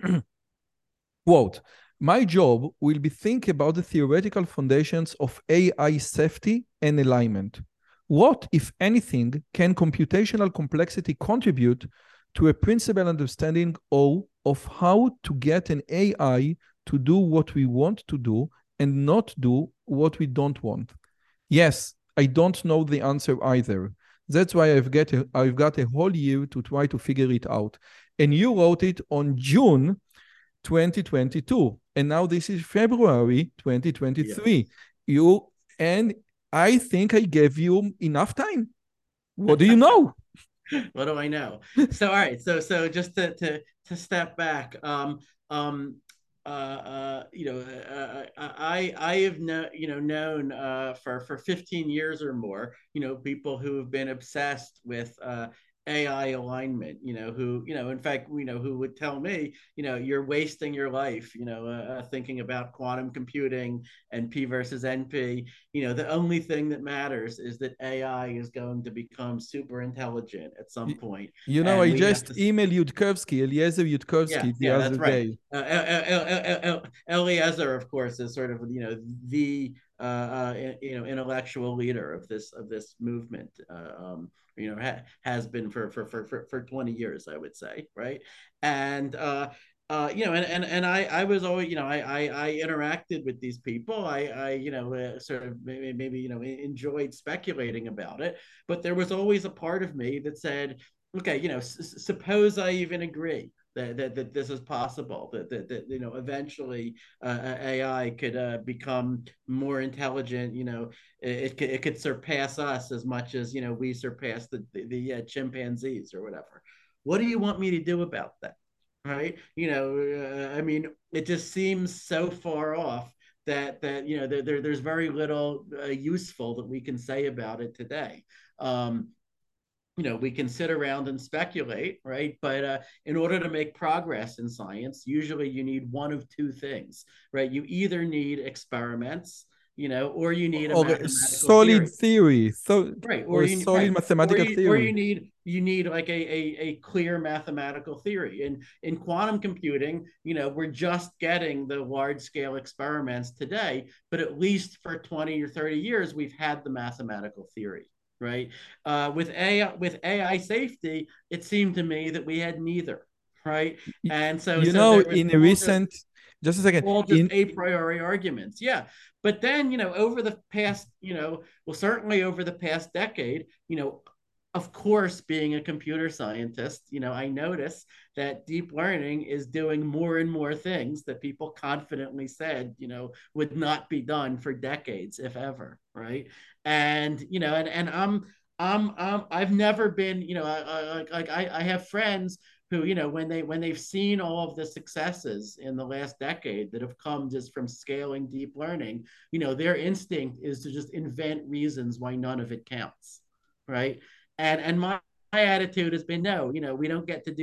Quote, my job will be think about the theoretical foundations of A I safety and alignment. What, if anything, can computational complexity contribute to a principal understanding of, of how to get an A I to do what we want to do and not do what we don't want? Yes, I don't know the answer either. That's why I've got a, I've got a whole year to try to figure it out. And you wrote it on June twenty twenty-two, and now this is February twenty twenty-three. Yes. You and I think I gave you enough time. What do you know? What do I know? So, all right. So, so just to to to step back, um, um, uh, uh, you know, uh, I I have no, you know, known uh, for for fifteen years or more, you know, people who have been obsessed with uh, A I alignment. You know, who, you know, in fact, you know, who would tell me, you know, you're wasting your life, you know, uh, thinking about quantum computing and P versus N P. You know, the only thing that matters is that A I is going to become super intelligent at some point, You know, and I we have just to. emailed Yudkowsky, Eliezer Yeah, Yudkowsky, the yeah, other that's right. day. Uh, El- El- El- Eliezer, of course, is sort of, you know, the uh, uh, you know, intellectual leader of this of this movement. Uh, um, you know, ha- has been for, for for for for twenty years, I would say, right? And uh, uh, you know, and and and I I was always, you know, I I, I interacted with these people. I I you know, uh, sort of maybe, maybe you know, enjoyed speculating about it, but there was always a part of me that said, okay, you know, s- suppose I even agree that, that, that this is possible, that, that, that you know, eventually uh, A I could uh, become more intelligent, you know, it, it, could, it could surpass us as much as, you know, we surpass the, the, the uh, chimpanzees or whatever. What do you want me to do about that? Right? You know, uh, I mean, it just seems so far off that, that you know, there, there there's very little uh, useful that we can say about it today. Um, you know, we can sit around and speculate, right? But uh, in order to make progress in science, usually you need one of two things, right? You either need experiments, you know, or you need a Or a mathematical solid theory, theory, so, right? or Or a you solid right, or mathematical you or theory. you need you need like a, a a clear mathematical theory. And in quantum computing, you know, we're just getting the large scale experiments today, but at least for twenty or thirty years, we've had the mathematical theory, right? Uh, with A I, with A I safety, it seemed to me that we had neither, right? And so You so know, there was in a all just recent, just a second, all just in a priori arguments. Yeah. But then, you know, over the past, you know, well, certainly over the past decade, you know, of course, being a computer scientist, you know, I notice that deep learning is doing more and more things that people confidently said, you know, would not be done for decades, if ever, right? And, you know, and, and I'm, I'm, I'm, I've never been, you know, like I, I, I have friends who, you know, when they when they've seen all of the successes in the last decade that have come just from scaling deep learning, you know, their instinct is to just invent reasons why none of it counts, right? And and my, my attitude has been, no, you know, we don't get to do that.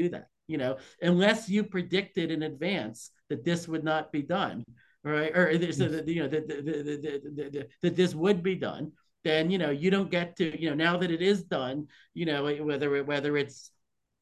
you know, unless you predicted in advance that this would not be done, right? Or so that, you know, that, that, that, that, that this would be done, then, you know, you don't get to, you know, now that it is done, you know, whether, whether it's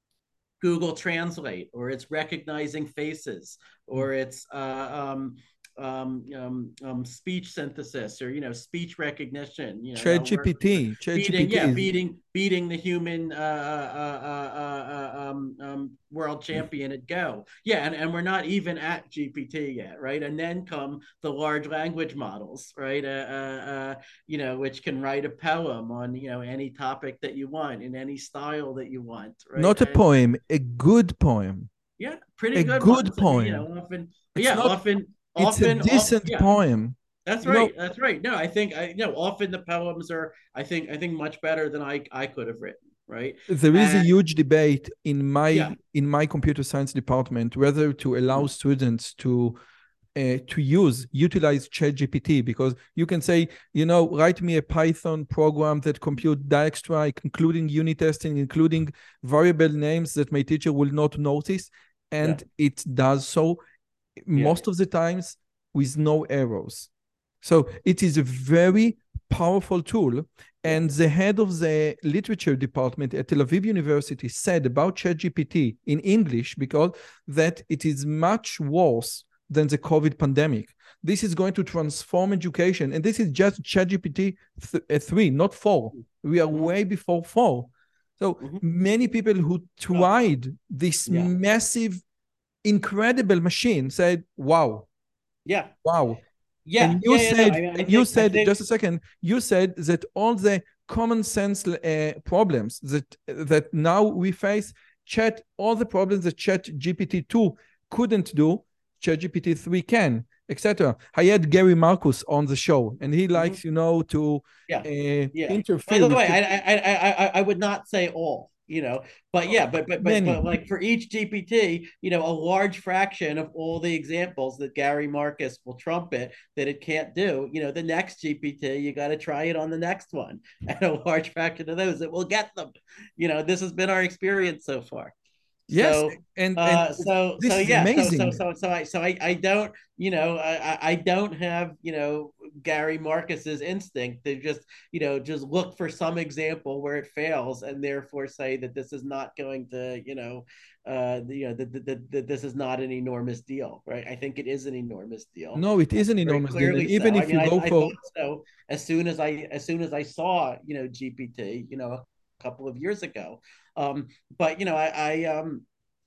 Google Translate, or it's recognizing faces, or it's uh, um, um, um, um, speech synthesis, or, you know, speech recognition. You know, they'll work ChatGPT, beating, yeah, ChatGPT is beating, beating the human uh, uh, uh, uh, uh, um, um, world champion at Go. Yeah, and, and we're not even at G P T yet, right? And then come the large language models, right? Uh, uh, uh, you know, which can write a poem on, you know, any topic that you want in any style that you want, right? not a And poem, a good poem. yeah, pretty A good good ones. I mean, you know, poem. often, It's yeah, not, often, it's a often, off, decent yeah, poem. that's You know, right. That's right. No, I think I, you know, often the poems are, I think, I think much better than I, I could have written, right? there is a And huge debate in yeah, my in my computer science department whether to allow students to uh, to use utilize ChatGPT, because you can say, you know, write me a Python program that compute Dijkstra, including unit testing, including variable names that my teacher will not notice, yeah, and it does so yeah, most of the times with no errors. So it is a very powerful tool. yeah, And the head of the literature department at Tel Aviv University said about ChatGPT in English, because that it is much worse than the COVID pandemic. This is going to transform education. And this is just ChatGPT th- three, not four. We are mm-hmm. way before four. So Mm-hmm. many people who tried oh. this yeah. massive, incredible machine said, wow. Yeah. Wow. Yeah. And you yeah, yeah, said, no, I mean, I and think, you said, think... just a second, you said that all the common sense uh, problems that that now we face, chat, all the problems that Chat G P T two couldn't do, Chat G P T three can, et cetera. I had Gary Marcus on the show, and he likes, mm-hmm. you know, to yeah. Uh, yeah. interfere. By the way, I, I I I I would not say all. You know, but yeah, but but but, but like for each G P T, you know, a large fraction of all the examples that Gary Marcus will trumpet that it can't do, you know, the next G P T, you got to try it on the next one, and a large fraction of those that will get them. You know, this has been our experience so far. Yes, so, and, and uh, so this so is yeah, amazing. so so so so I so I, I don't, you know, I I don't have, you know, Gary Marcus's instinct to just, you know, just look for some example where it fails and therefore say that this is not going to, you know, uh, you know, that, that, that this is not an enormous deal, right? I think it is an enormous deal. No, it is an enormous deal, and even so. if I mean, you I, go I for thought so as soon as I as soon as I saw, you know, G P T, you know, a couple of years ago. Um, but you know, I, I um.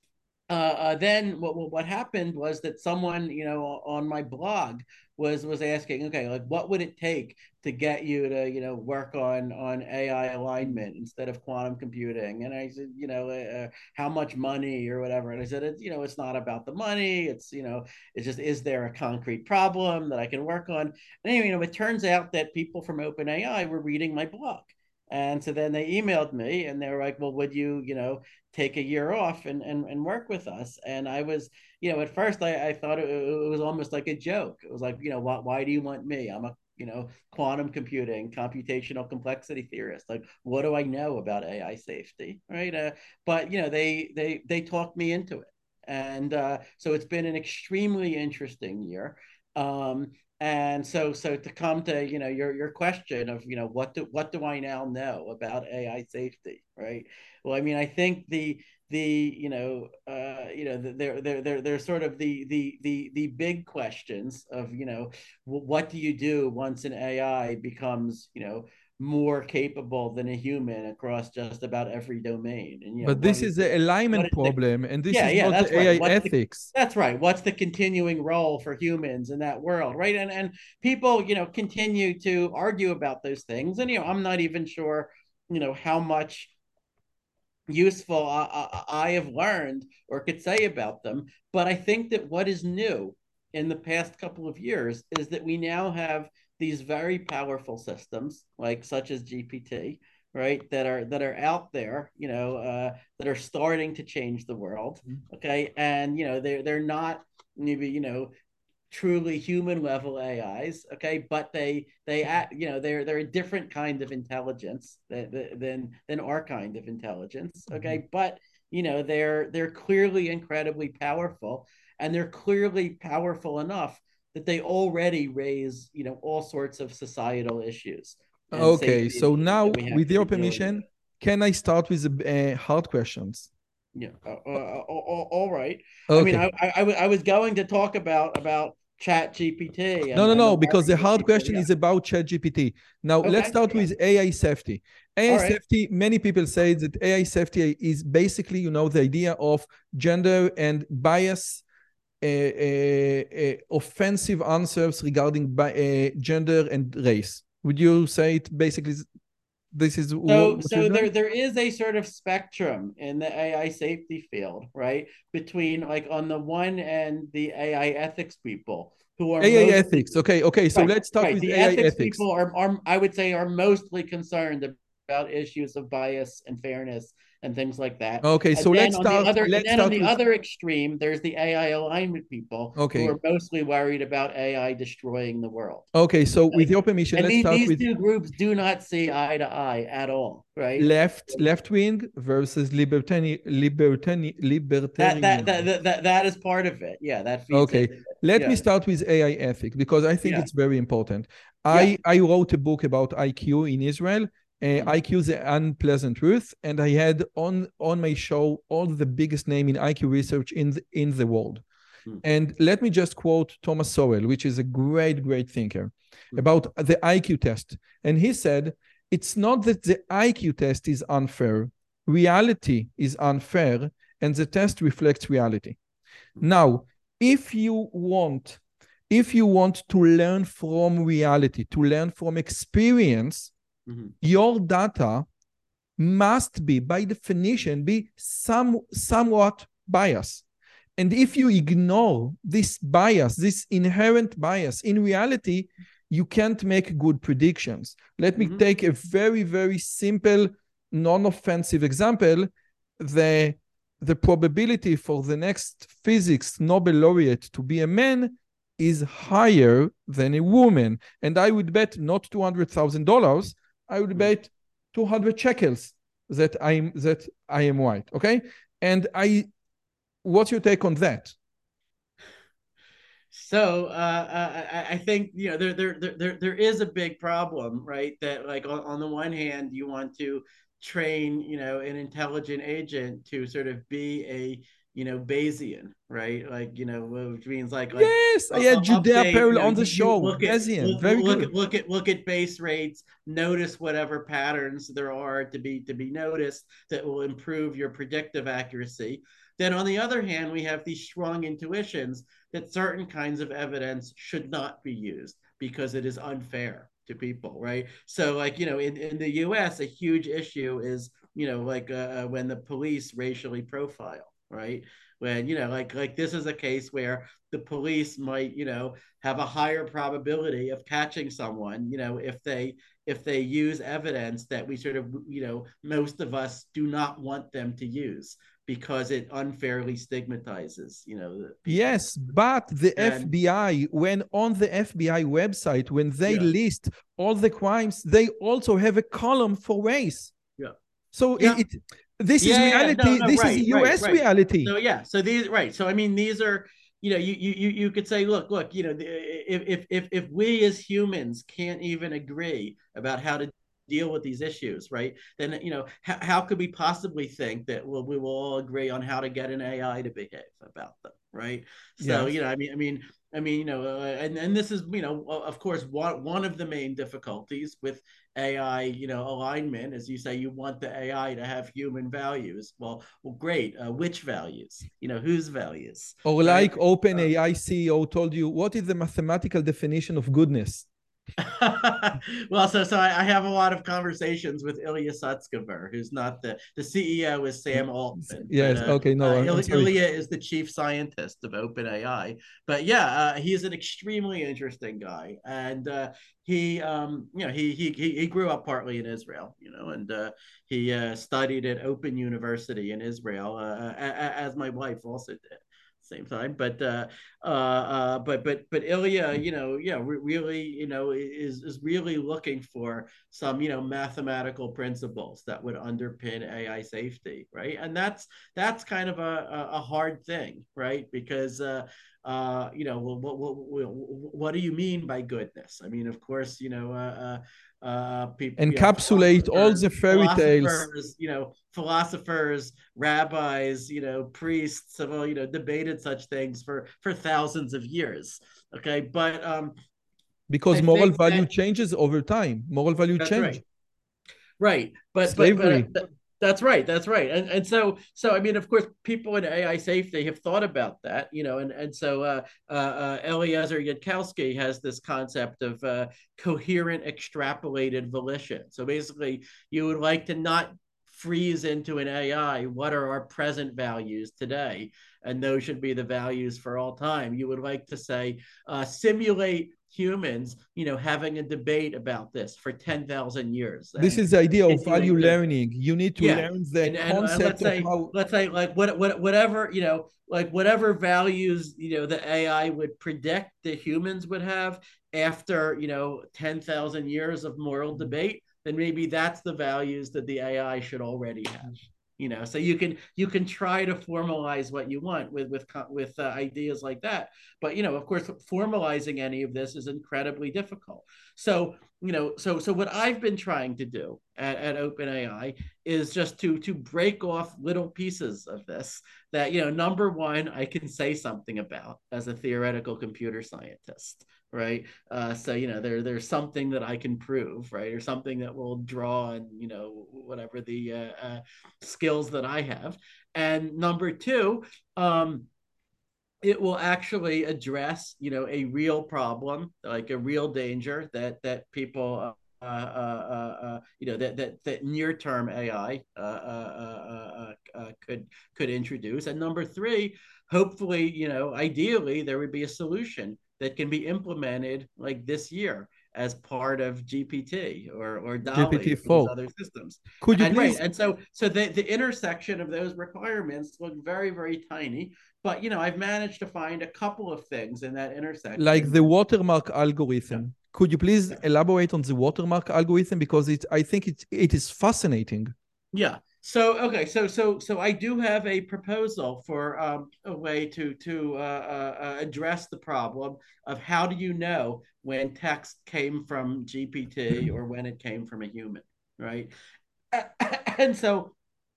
Uh, uh, then what what happened was that someone, you know, on my blog was was asking, okay, like what would it take to get you to, you know, work on on A I alignment instead of quantum computing? And I said, you know, uh, how much money or whatever. And I said, it's, you know, it's not about the money. It's, you know, it's just, is there a concrete problem that I can work on? And anyway, you know, it turns out that people from OpenAI were reading my blog. And so then they emailed me and they were like, well, would you, you know, take a year off and, and, and work with us? And I was, you know, at first I, I thought it, it was almost like a joke. It was like, you know, why, why do you want me? I'm a, you know, quantum computing, computational complexity theorist. Like, what do I know about A I safety? Right. Uh, but, you know, they, they, they talked me into it. And uh, so it's been an extremely interesting year. Um, And so, so to come to, you know, your your question of, you know, what do what do I now know about A I safety, right? Well, I mean, I think the the you know uh, you know they're they're they're they're sort of the the the the big questions of, you know, what do you do once an A I becomes, you know, more capable than a human across just about every domain. And, you know, but this is the alignment problem, the, and this yeah, is yeah, not that's the right. A I What's ethics. The, that's right. What's the continuing role for humans in that world, right? And and people, you know, continue to argue about those things. And, you know, I'm not even sure, you know, how much useful I, I, I have learned or could say about them. But I think that what is new in the past couple of years is that we now have these very powerful systems, like such as G P T, right, that are that are out there, you know, uh, that are starting to change the world. Okay, and you know they're they're not maybe, you know, truly human level A Is, okay, but they they act, you know, they're they're a different kind of intelligence than than than our kind of intelligence, okay, but you know, they're they're clearly incredibly powerful, and they're clearly powerful enough that they already raise, you know, all sorts of societal issues and Okay, safety so issues that now we have with to be your dealing with. permission, can I start with the uh, hard questions? Yeah. Uh, uh, uh, all, all right. I mean, Okay. I, I, I was going to talk about about Chat G P T No, and no, and the no, because the worries of hard people. question Yeah. is about ChatGPT. Now, let's Okay. start Yeah. with A I safety. A I All right. safety, many people say that A I safety is basically, you know, the idea of gender and bias, uh, uh, uh, offensive answers regarding bi- uh, gender and race. Would you say it basically this is So, what you're so there doing? there is a sort of spectrum in the A I safety field, right? Between, like, on the one end, the A I ethics people who are A I mostly ethics. Okay, okay. So right, let's start right. with The A I ethics ethics. people are, are I would say, are mostly concerned about issues of bias and fairness and things like that. Okay, And so then let's on the start. other, and Let's then on start the with. other extreme, there's the A I alignment people who Okay, are mostly worried about A I destroying the world. okay. So with Right? your permission, And let's these, start these with two groups do not see eye to eye at all, right? left left wing versus libertarian libertarian That that libertarian. that that that is part of it. Yeah, that feeds Okay, into it. let me Yeah, start with A I ethic because I think yeah, it's very important. yeah. I I wrote a book about I Q in Israel. Uh, Mm, I Q the unpleasant truth, and I had on on my show all the biggest name in I Q research in the, in the world. mm, And let me just quote Thomas Sowell, which is a great, great thinker, mm, about the I Q test. And he said, it's not that the I Q test is unfair, reality is unfair, and the test reflects reality. mm, Now, if you want, if you want to learn from reality, to learn from experience, mm, your data must be, by definition, be some somewhat biased. And if you ignore this bias, this inherent bias, in reality, you can't make good predictions. Let me mm, take a very, very simple, non-offensive example. The, the probability for the next physics Nobel laureate to be a man is higher than a woman. And I would bet not two hundred thousand dollars, I would mm. bet two hundred shekels that I'm that I am white. Okay. And I what's your take on that? So uh, I, I think, you know, there, there there there is a big problem, right? That, like, on, on the one hand, you want to train, you know, an intelligent agent to sort of be a, you know, Bayesian, right? Like, you know, which means like like Yes, I uh, had Judea update, you Pearl know, on the you, you show. look at Bayesian, look very look good. at look at look at base rates, notice whatever patterns there are to be to be noticed that will improve your predictive accuracy. Then on the other hand, we have these strong intuitions that certain kinds of evidence should not be used because it is unfair to people, right? So, like, you know, in, in the U S, a huge issue is, you know, like uh, when the police racially profile, right? When, you know, like like this is a case where the police might, you know, have a higher probability of catching someone, you know, if they if they use evidence that we sort of, you know, most of us do not want them to use because it unfairly stigmatizes, you know, people. Yes, but the And F B I, when on the F B I website, when they yeah, list all the crimes, they also have a column for race. yeah, So yeah, it, it this is yeah, yeah, yeah. No, reality. no, This is right, right, U S right. reality. So yeah, so these, right. So I mean, these are, you know, you you you could say, look, look, you know, if if if if we as humans can't even agree about how to deal with these issues, right? Then, you know, how, how could we possibly think that, well, we will all agree on how to get an A I to behave about them, right? So, you Yes. know, I mean, I mean, I mean, you know, uh, and and this is, you know, of course, one one of the main difficulties with A I, you know, alignment, as you say, you want the A I to have human values. Well, well, great. Uh, which values? You know, whose values, Or right? like Uh, OpenAI C E O told you, what is the mathematical definition of goodness? well, so so I, I have a lot of conversations with Ilya Sutskever, who's not the the C E O is Sam Altman, but Yes. uh, Okay. No, uh, I'm, I'm Il, sorry. Ilya is the chief scientist of OpenAI. But yeah, uh, he's an extremely interesting guy, and uh, he um you know he he he grew up partly in Israel, you know, and uh, he uh, studied at Open University in Israel, uh, as my wife also did. same time. But uh, uh, uh, but but but Ilya, you know, yeah, re- really, you know, is is really looking for some, you know, mathematical principles that would underpin A I safety, right? And that's that's kind of a a hard thing, right? Because uh, uh, you know, what, what what what do you mean by goodness? I mean, of course, you know, uh, uh uh people, you know, Encapsulate all the fairy tales. philosophers, you know, philosophers, rabbis, you know, priests have all, you know, debated such things for for thousands of years. Okay, but um because I moral think value that changes over time. Moral value that's change. right. Right. But but Slavery. but that's right. That's right. And and so so I mean, of course, people in A I safety have thought about that, you know, and and so uh, uh, uh, Eliezer Yudkowsky has this concept of uh, coherent extrapolated volition. So basically, you would like to not freeze into an A I. What are our present values today? And those should be the values for all time. You would like to say uh, simulate humans, you know, having a debate about this for ten thousand years. This is the idea of value to, learning. You need to yeah. learn the and, and, concept and let's say, of how... let's say like what, what, whatever, you know, like whatever values, you know, the A I would predict the humans would have after, you know, ten thousand years of moral debate, then maybe that's the values that the A I should already have. You know, so you can you can try to formalize what you want with with with uh, ideas like that, but you know, of course, formalizing any of this is incredibly difficult. So you know, so so what I've been trying to do at, at OpenAI is just to to break off little pieces of this that, you know, number one, I can say something about as a theoretical computer scientist. Right. Uh, so, you know, there there's something that I can prove, right, or something that will draw on, you know, whatever the uh, uh, skills that I have. And number two, um, it will actually address, you know, a real problem, like a real danger that that people, uh, uh, uh, uh, you know, that that that near-term A I uh, uh, uh, uh, could could introduce. And number three, hopefully, you know, ideally, there would be a solution that can be implemented like this year as part of G P T or or DALL-E, G P T four. other systems. Could you and please? Right, and so so the the intersection of those requirements look very very tiny, but you know, I've managed to find a couple of things in that intersection. Like the watermark algorithm. Yeah. Could you please yeah. elaborate on the watermark algorithm, because it I think it it is fascinating. Yeah. So okay, so so so I do have a proposal for um, a way to to uh, uh, address the problem of how do you know when text came from G P T or when it came from a human, right? And so,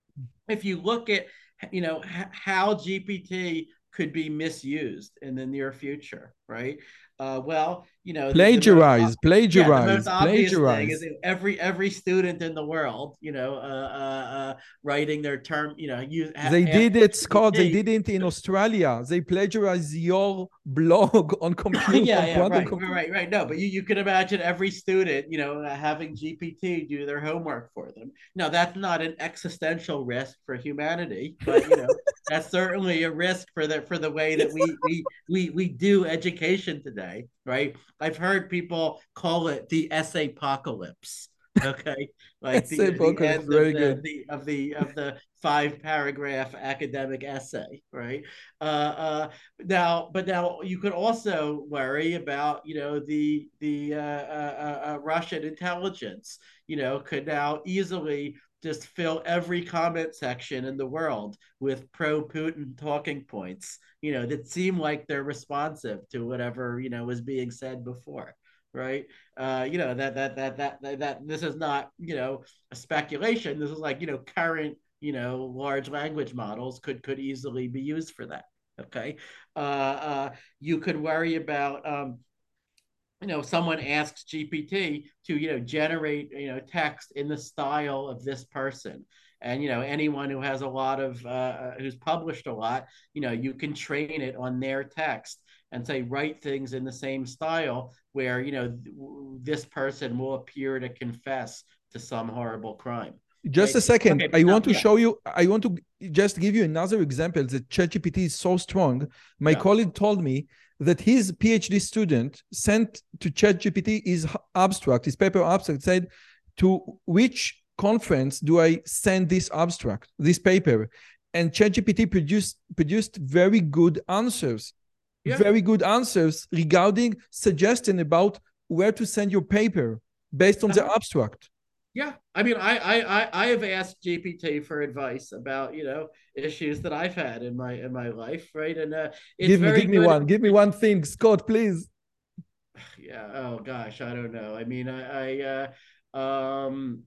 if you look at, you know, how G P T could be misused in the near future, right? Uh, well, you know, plagiarize, the most, plagiarize, yeah, the most obvious plagiarize. thing is every every student in the world, you know, uh, uh, uh, writing their term, you know, use. They did it, Scott. They did it in Australia. They plagiarized your blog on computer. yeah, yeah, right, computer. right, right. No, but you, you can imagine every student, you know, having G P T do their homework for them. Now, that's not an existential risk for humanity, but you know, that's certainly a risk for the for the way that we we we we do education today, right? I've heard people call it the essay apocalypse. Okay, like the, the end of the, the of the of the five paragraph academic essay, right? Uh, uh, now, but now you could also worry about, you know, the the uh, uh, uh, Russian intelligence, you know, could now easily just fill every comment section in the world with pro-Putin talking points, you know, that seem like they're responsive to whatever, you know, was being said before. Right. Uh, you know, that, that, that, that, that, that this is not, you know, a speculation. This is like, you know, current, you know, large language models could, could easily be used for that. Okay. Uh, uh, you could worry about, um, you know, someone asks G P T to, you know, generate, you know, text in the style of this person. And, you know, anyone who has a lot of, uh, who's published a lot, you know, you can train it on their text and say, write things in the same style where, you know, this person will appear to confess to some horrible crime. Just right? a second. Okay, I now, want to yeah. show you, I want to just give you another example that ChatGPT is so strong. My yeah. colleague told me that his PhD student sent to ChatGPT his abstract, his paper abstract, said, to which conference do I send this abstract, this paper? and ChatGPT produced produced very good answers, yeah. very good answers regarding suggestion about where to send your paper based on uh-huh. the abstract. Yeah, I mean, I I I have asked G P T for advice about, you know, issues that I've had in my in my life, right? And uh, it's give me very give me good. one, give me one thing, Scott, please. Yeah. Oh gosh, I don't know. I mean, I I uh, um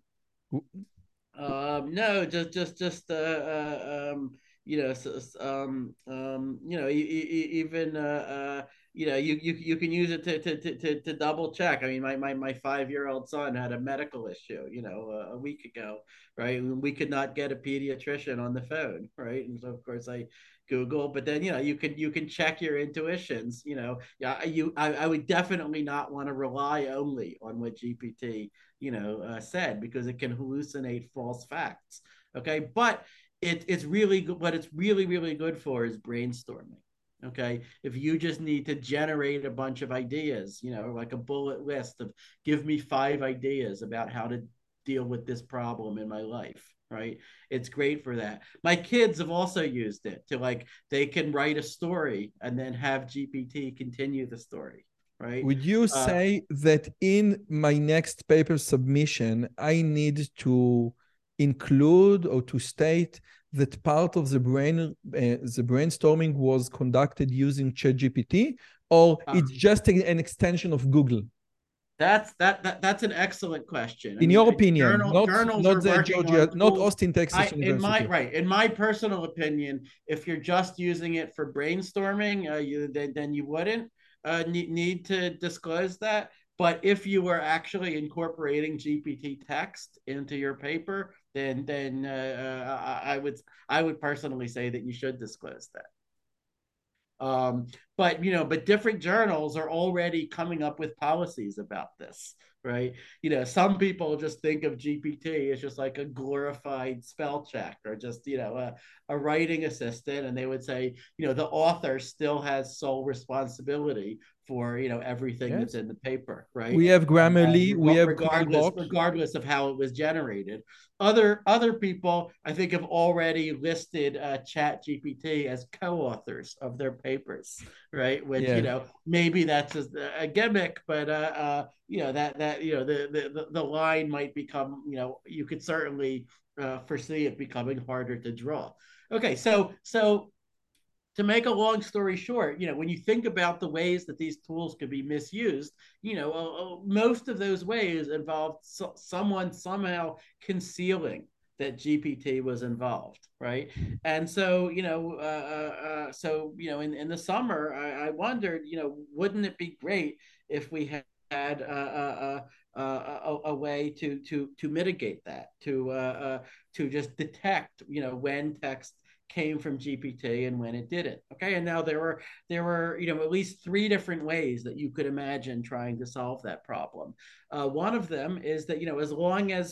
um no, just just just uh, uh um you know so, um um you know e- e- even uh, uh you know you, you you can use it to to to to double check. I mean, my my my five year old son had a medical issue, you know, a, a week ago, right? We could not get a pediatrician on the phone, right? And so of course I Google, but then you know you can you can check your intuitions. You know, yeah, you I, I would definitely not want to rely only on what G P T you know uh, said, because it can hallucinate false facts. Okay, but it, it's really good. What it's really really good for is brainstorming. Okay, if you just need to generate a bunch of ideas, you know, like a bullet list of give me five ideas about how to deal with this problem in my life, right? It's great for that. My kids have also used it to, like, they can write a story and then have G P T continue the story, right? Would you uh, say that in my next paper submission, I need to include or to state that part of the brain, uh, the brainstorming was conducted using ChatGPT, or uh, it's just an extension of Google? That's that, that that's an excellent question. In I mean, your opinion, journal, not journals not the Georgia, not Austin, Texas I, University. In my right, in my personal opinion, if you're just using it for brainstorming, uh, you then, then you wouldn't uh, need, need to disclose that. But if you were actually incorporating G P T text into your paper, then then uh, I would I would personally say that you should disclose that. Um, but you know, but different journals are already coming up with policies about this, right? You know, some people just think of G P T as just like a glorified spell check, or just, you know, a, a writing assistant, and they would say, you know, the author still has sole responsibility for, you know, everything yes. that's in the paper, right? We have Grammarly, um, we have regardless regardless of how it was generated. Other other people, I think, have already listed uh, Chat G P T as co-authors of their papers, right? Which yeah. you know, maybe that's just a gimmick, but uh, uh, you know, that that you know the the the line might become, you know, you could certainly uh, foresee it becoming harder to draw. Okay, so so. To make a long story short, you know, when you think about the ways that these tools could be misused, you know, uh, most of those ways involved so- someone somehow concealing that G P T was involved, right? And so, you know, uh, uh, so, you know, in, in the summer, I, I wondered, you know, wouldn't it be great if we had had uh, uh, uh, a, a way to to to mitigate that, to uh, uh, to just detect, you know, when text came from G P T and when it didn't. Okay, and now there were there were you know at least three different ways that you could imagine trying to solve that problem. Uh, one of them is that, you know, as long as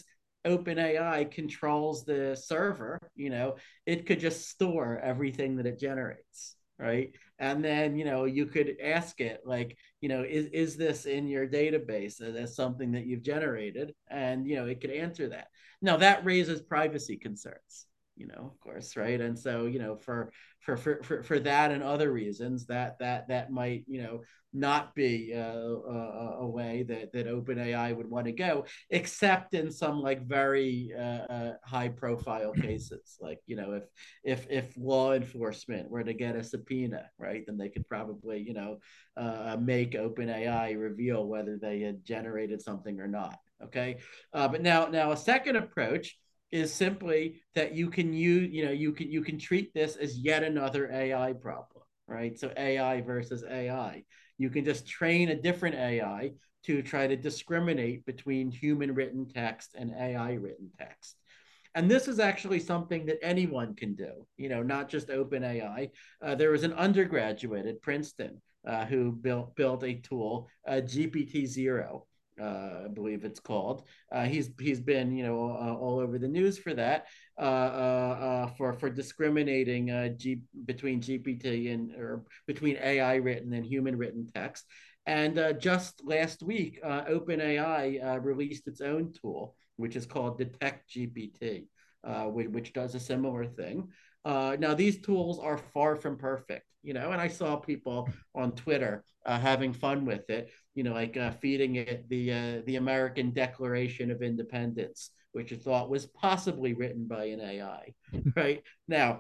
OpenAI controls the server, you know, it could just store everything that it generates, right? And then, you know, you could ask it, like, you know, is is this in your database as something that you've generated? And, you know, it could answer that. Now that raises privacy concerns, you know, of course, right? And so, you know, for for for for, for that and other reasons, that that that might, you know, not be uh, a, a way that that OpenAI would want to go, except in some, like, very uh, uh, high profile cases, like, you know, if if if law enforcement were to get a subpoena, right, then they could probably, you know, uh, make OpenAI reveal whether they had generated something or not. Okay, uh, but now now a second approach is simply that you can use, you know, you can you can treat this as yet another A I problem, right? So A I versus A I. You can just train a different A I to try to discriminate between human written text and A I written text. And this is actually something that anyone can do, you know, not just OpenAI. Uh, there was an undergraduate at Princeton uh, who built built a tool, uh, G P T zero. Uh, I believe it's called. Uh, he's he's been, you know, uh, all over the news for that, uh, uh, uh, for for discriminating uh, G, between G P T and, or between A I written and human written text. And uh, just last week, uh, OpenAI uh, released its own tool, which is called Detect G P T, uh, which, which does a similar thing. Uh, now these tools are far from perfect, you know, and I saw people on Twitter uh, having fun with it, you know, like uh, feeding it the uh, the American Declaration of Independence, which I thought was possibly written by an A I. Right now,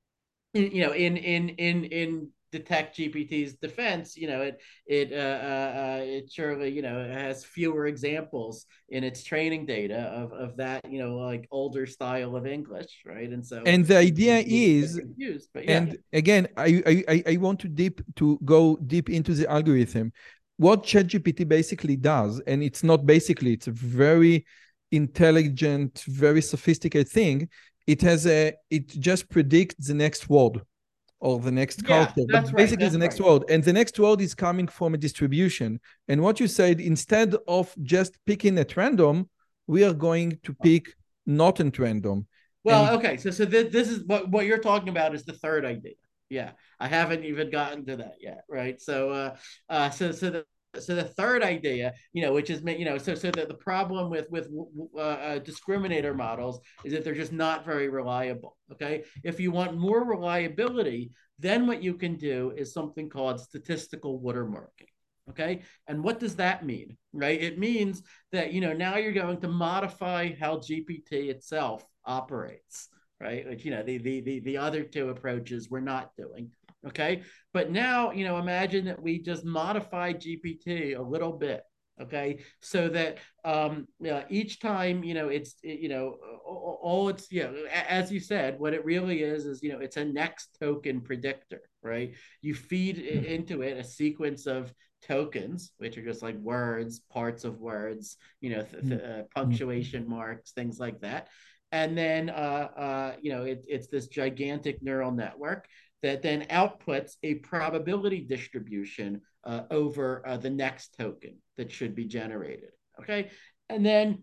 you know, in in in in detect G P T's defense, you know, it it uh, uh, uh, it surely, you know, has fewer examples in its training data of of that, you know, like older style of English, right? And so And the it idea can be is, confused, but yeah. and again, I, I, I want to deep to go deep into the algorithm. What ChatGPT basically does, and it's not basically, it's a very intelligent, very sophisticated thing. It has a, it just predicts the next word or the next Yeah, culture, that's but right. basically the That's next right. word. And the next word is coming from a distribution. And what you said, instead of just picking at random, we are going to pick not at random. And Well, okay, so so th- this is what what you're talking about is the third idea. Yeah, I haven't even gotten to that yet, right? So, uh, uh, so so the so the third idea, you know, which is you know, so so the, the problem with with uh, uh, discriminator models is that they're just not very reliable. Okay, if you want more reliability, then what you can do is something called statistical watermarking. Okay, and what does that mean, right? It means that, you know, now you're going to modify how G P T itself operates, right? Which, you know, the the the, the other two approaches we're not doing. Okay. But now, you know, imagine that we just modify G P T a little bit. Okay, so that um, uh, each time, you know, it's it, you know, all, all it's, you know, as you said, what it really is is, you know, it's a next token predictor, right? You feed into it a sequence of tokens, which are just like words, parts of words, you know, th- th- uh, punctuation marks, things like that. And then, uh, uh, you know, it, it's this gigantic neural network that then outputs a probability distribution uh, over uh, the next token that should be generated. Okay. And then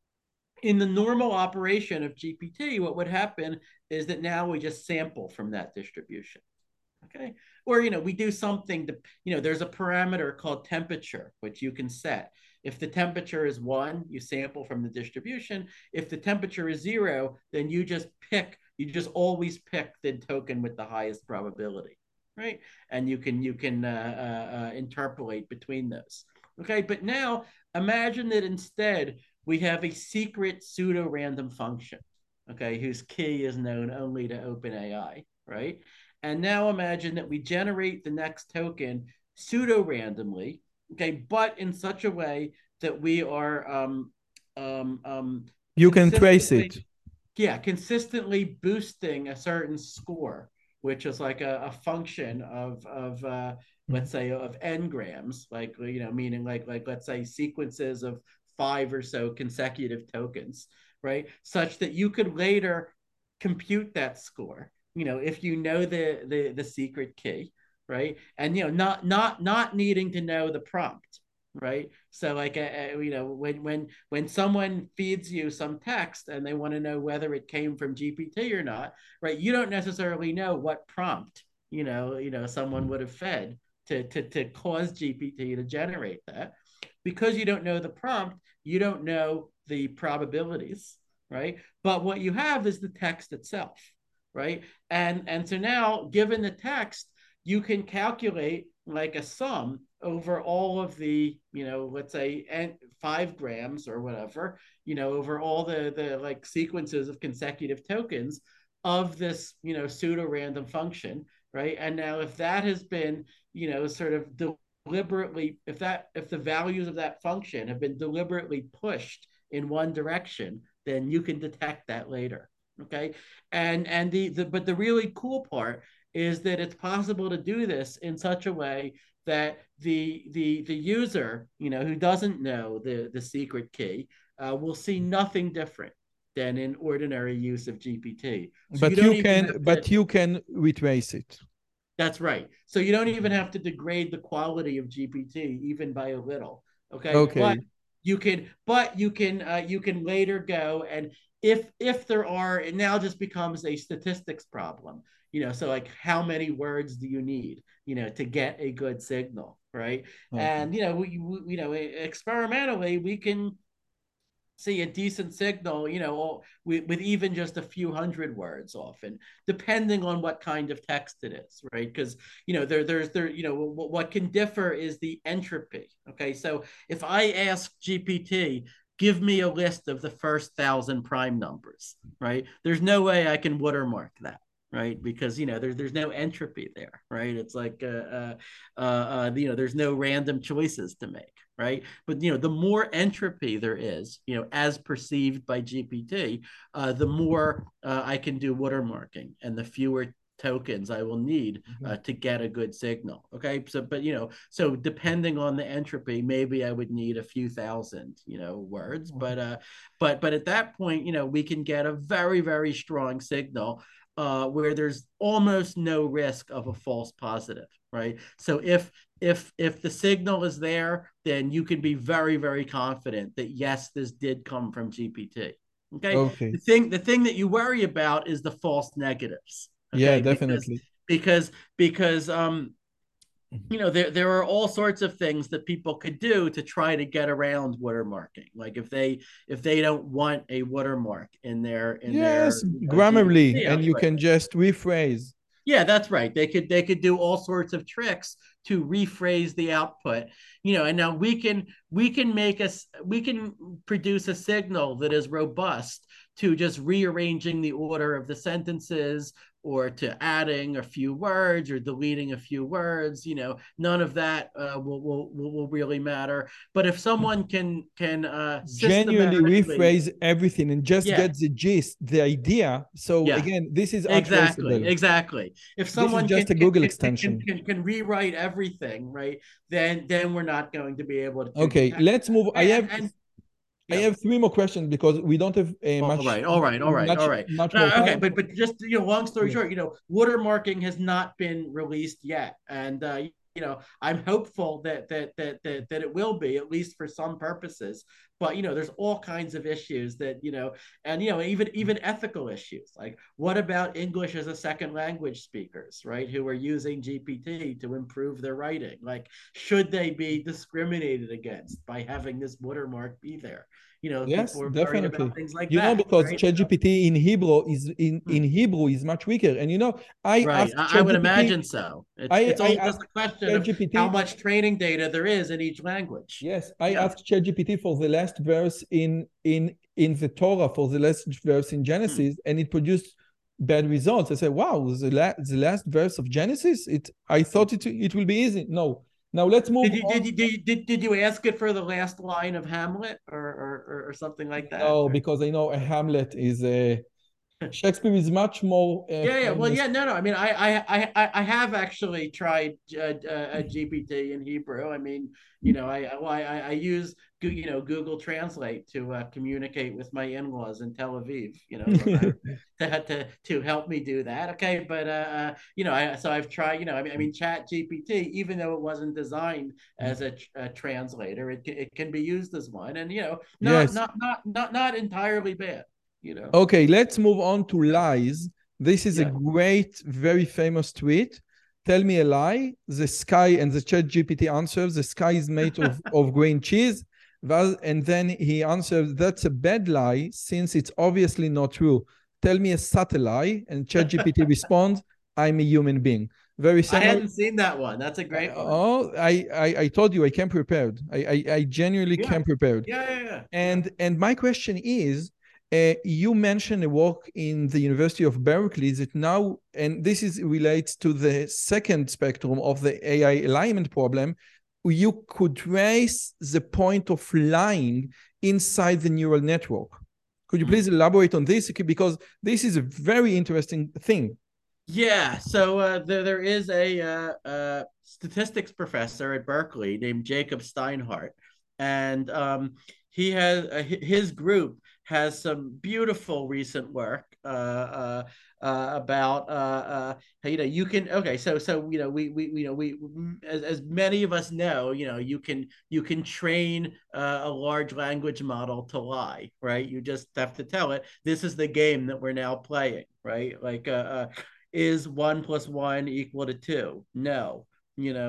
in the normal operation of G P T, what would happen is that now we just sample from that distribution. Okay. Or, you know, we do something to, you know, there's a parameter called temperature, which you can set. If the temperature is one, you sample from the distribution. If the temperature is zero, then you just pick, you just always pick the token with the highest probability, right? And you can, you can uh, uh, uh, interpolate between those. Okay. But now imagine that instead we have a secret pseudo random function, okay, whose key is known only to OpenAI, right? And now imagine that we generate the next token pseudo randomly, okay, but in such a way that we are um, um, um, you can trace consistently, it. yeah, consistently boosting a certain score, which is like a, a function of of uh, let's say of n-grams, like, you know, meaning like like let's say sequences of five or so consecutive tokens, right? Such that you could later compute that score, you know, if you know the the the secret key, right? And, you know, not not not needing to know the prompt, right? So like, uh, you know, when when when someone feeds you some text and they want to know whether it came from G P T or not, right? You don't necessarily know what prompt, you know, you know, someone would have fed to to to cause G P T to generate that. Because you don't know the prompt, you don't know the probabilities, right? But what you have is the text itself, right? And and so now, given the text, you can calculate like a sum over all of the, you know, let's say and five grams or whatever, you know, over all the the like sequences of consecutive tokens of this, you know, pseudo random function, right? And now if that has been, you know, sort of deliberately, if that if the values of that function have been deliberately pushed in one direction, then you can detect that later. Okay. And and the, the but the really cool part is that it's possible to do this in such a way that the the the user, you know, who doesn't know the the secret key uh, will see nothing different than in ordinary use of G P T. So you But don't you even can, have to. but you can retrace it. That's right. So you don't even have to degrade the quality of G P T even by a little. Okay, but Okay. you can, but you can, uh, you can later go and if if there are, it now just becomes a statistics problem. You know, so like how many words do you need, you know, to get a good signal, right? Okay. And, you know, we, we you know, experimentally we can see a decent signal, you know, with, with even just a few hundred words often, depending on what kind of text it is, right? Because, you know, there, there's, there, you know, what, what can differ is the entropy. Okay. So if I ask G P T, give me a list of the first thousand prime numbers, right? There's no way I can watermark that. Right, because you know there's there's no entropy there, right? It's like uh, uh, uh, uh, you know there's no random choices to make, right? But you know, the more entropy there is, you know, as perceived by G P T, uh, the more uh, I can do watermarking, and the fewer tokens I will need uh, to get a good signal. Okay, so but you know, so depending on the entropy, maybe I would need a few thousand, you know, words. But uh, but but at that point, you know, we can get a very very strong signal uh, where there's almost no risk of a false positive, right? So if if if the signal is there, then you can be very very confident that yes, this did come from G P T. Okay. Okay. The thing the thing that you worry about is the false negatives. Yeah, Okay, because definitely. because because um you know there there are all sorts of things that people could do to try to get around watermarking, like if they if they don't want a watermark in their in their Yes, you know, Grammarly, G P T and you output. can just rephrase. Yeah, that's right. They could they could do all sorts of tricks to rephrase the output. You know, and now we can we can make us we can produce a signal that is robust to just rearranging the order of the sentences, or to adding a few words or deleting a few words. You know, none of that uh, will, will will really matter. But if someone can can uh, Genuinely systematically, rephrase everything and just yeah, get the gist, the idea. So yeah, again, this is exactly, untraceable. exactly. If This is someone can just a can, Google can can extension. can can rewrite everything, right? Then then we're not going to be able to Okay, detect let's move. that. I have And and I yeah. have three more questions because we don't have uh, All much right, all right, all right, all much right. much more Uh, okay, time. but but just you know, long story Yes. short, you know, watermarking has not been released yet, and uh, you know, I'm hopeful that that that that that it will be, at least for some purposes. But you know, there's all kinds of issues that you know, and you know, even even ethical issues, like what about English as a second language speakers, right, who are using G P T to improve their writing? Like, should they be discriminated against by having this watermark be there? You know, Yes, people are worried about definitely. things like You know, that, because right? So, ChatGPT in Hebrew is in, hmm, in Hebrew is much weaker. And you know, I right. asked I, I would ChatGPT, imagine so. It's I, it's I all just asked a question of how ChatGPT, much training data there is in each language. yes, I Yeah. asked ChatGPT for the last verse in in in the Torah, for the last verse in Hmm. Genesis, and it produced bad results. I said, wow, the, la the last verse of Genesis, it I thought it it will be easy. No. Now let's move Did you did on. you did you, did, did you ask it for the last line of Hamlet, or or, or, or something like that? No, Or... because I know a Hamlet is a Shakespeare is much more uh, Yeah, yeah. Well, famous. yeah, no, no. I mean, I, I, I, I have actually tried uh, uh, G P T in Hebrew. I mean, you know, I, well, I, I use, you know, Google Translate to uh, communicate with my in-laws in Tel Aviv. You know, sometimes to to to help me do that. Okay, but uh, you know, I so I've tried. You know, I mean, I mean, Chat G P T, even though it wasn't designed as a, a translator, it it can be used as one, and you know, not Yes. not not not not entirely bad. You know. Okay, let's move on to lies. This is a Yeah. great, very famous tweet. Tell me a lie. The sky, and the chat G P T answers, the sky is made of, of green cheese. And then he answers, that's a bad lie since it's obviously not true. Tell me a subtle lie. And chat G P T responds, I'm a human being. Very I simple. hadn't seen that one. That's a Uh, great one. oh, I, I, I told you I came prepared. I, I, I genuinely Yeah. came prepared. Yeah, yeah, yeah. Yeah. And and my question is, uh, you mentioned a work in the University of Berkeley that now, and this is relates to the second spectrum of the A I alignment problem. You could trace the point of lying inside the neural network. Could you please Hmm. elaborate on this? Because this is a very interesting thing. Yeah. So uh, there, there is a uh, uh, statistics professor at Berkeley named Jacob Steinhardt, and um, he has uh, his group has some beautiful recent work uh, uh, uh, about uh, uh, you know you can okay so so you know we we you know we as, as many of us know, you know, you can you can train uh, a large language model to lie, right? You just have to tell it this is the game that we're now playing, right? Like uh, uh is one plus one equal to two? No. You know,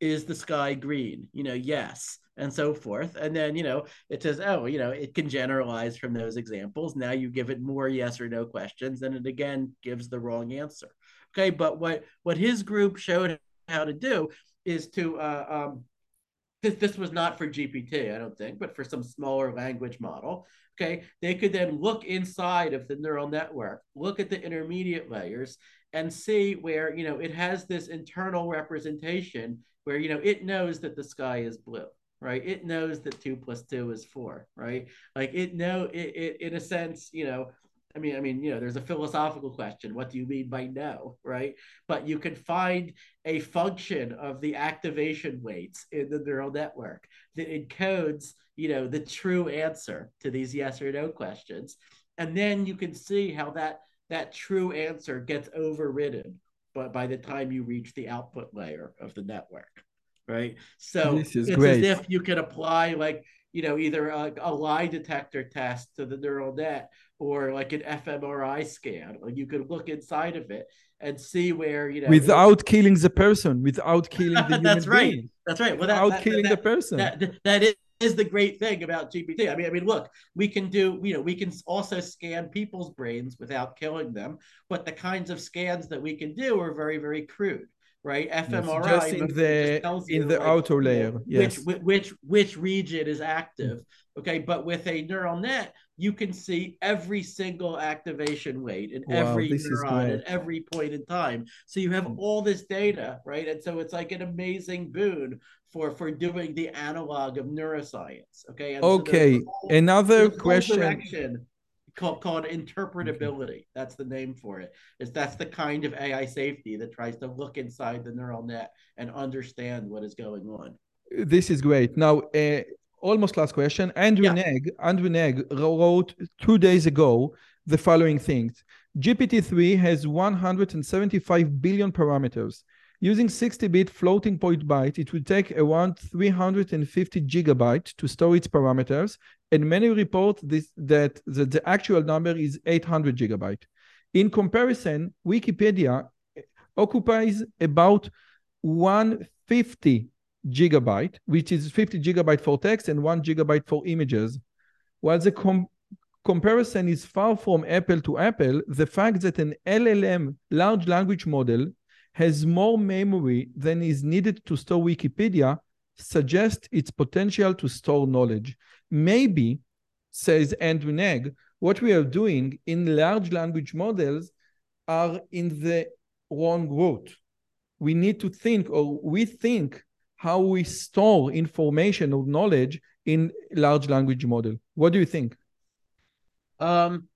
is the sky green? You know, yes, and so forth. And then, you know, it says, oh, you know, it can generalize from those examples. Now you give it more yes or no questions, and it again gives the wrong answer. Okay, but what what his group showed how to do is to uh, um, this, this was not for G P T, I don't think, but for some smaller language model. Okay, they could then look inside of the neural network, look at the intermediate layers, and see where, you know, it has this internal representation where, you know, it knows that the sky is blue, right? It knows that two plus two is four, right? Like it know it, it in a sense, you know, I mean, I mean, you know, there's a philosophical question. What do you mean by no, right? But you can find a function of the activation weights in the neural network that encodes, you know, the true answer to these yes or no questions. And then you can see how that that true answer gets overridden but by the time you reach the output layer of the network, right? So This is it's as great. if you could apply like, you know, either a, a lie detector test to the neural net or like an fMRI scan. Like you could look inside of it and see where, you know, it, Without killing the person, without killing the human that's right. being, That's right. Well, that without that killing the that person. that that, that is, is the great thing about G P T. I mean, I mean, look, we can do, you know, we can also scan people's brains without killing them, but the kinds of scans that we can do are very, very crude, right? Yes, just fMRI in mostly just the tells in you the like, outer you know, layer. which Yes. which which region is active. Okay, but with a neural net, you can see every single activation weight in Wow, every this is neuron at great. every point in time. So you have all this data, right? And so it's like an amazing boon for for doing the analog of neuroscience. Okay, and so there's a Okay, whole, another there's a whole question. direction called called Okay. interpretability. That's the name for it. Is that's the kind of A I safety that tries to look inside the neural net and understand what is going on. This is great. Now, uh, almost last question. Andrew Yeah. Neg, Andrew Neg wrote two days ago the following things. G P T three has one hundred seventy-five billion parameters. Using sixty bit floating point byte, it would take around three hundred fifty gigabytes to store its parameters, and many report this, that, that the actual number is eight hundred gigabytes. In comparison, Wikipedia occupies about one hundred fifty gigabyte, which is fifty gigabyte for text and one gigabyte for images. While the com- comparison is far from apple to apple, the fact that an L L M, large language model, has more memory than is needed to store Wikipedia suggests its potential to store knowledge. Maybe, says Andrew Neg, what we are doing in large language models are in the wrong route. We need to think, or we think, how we store information or knowledge in large language model. What do you think? Um,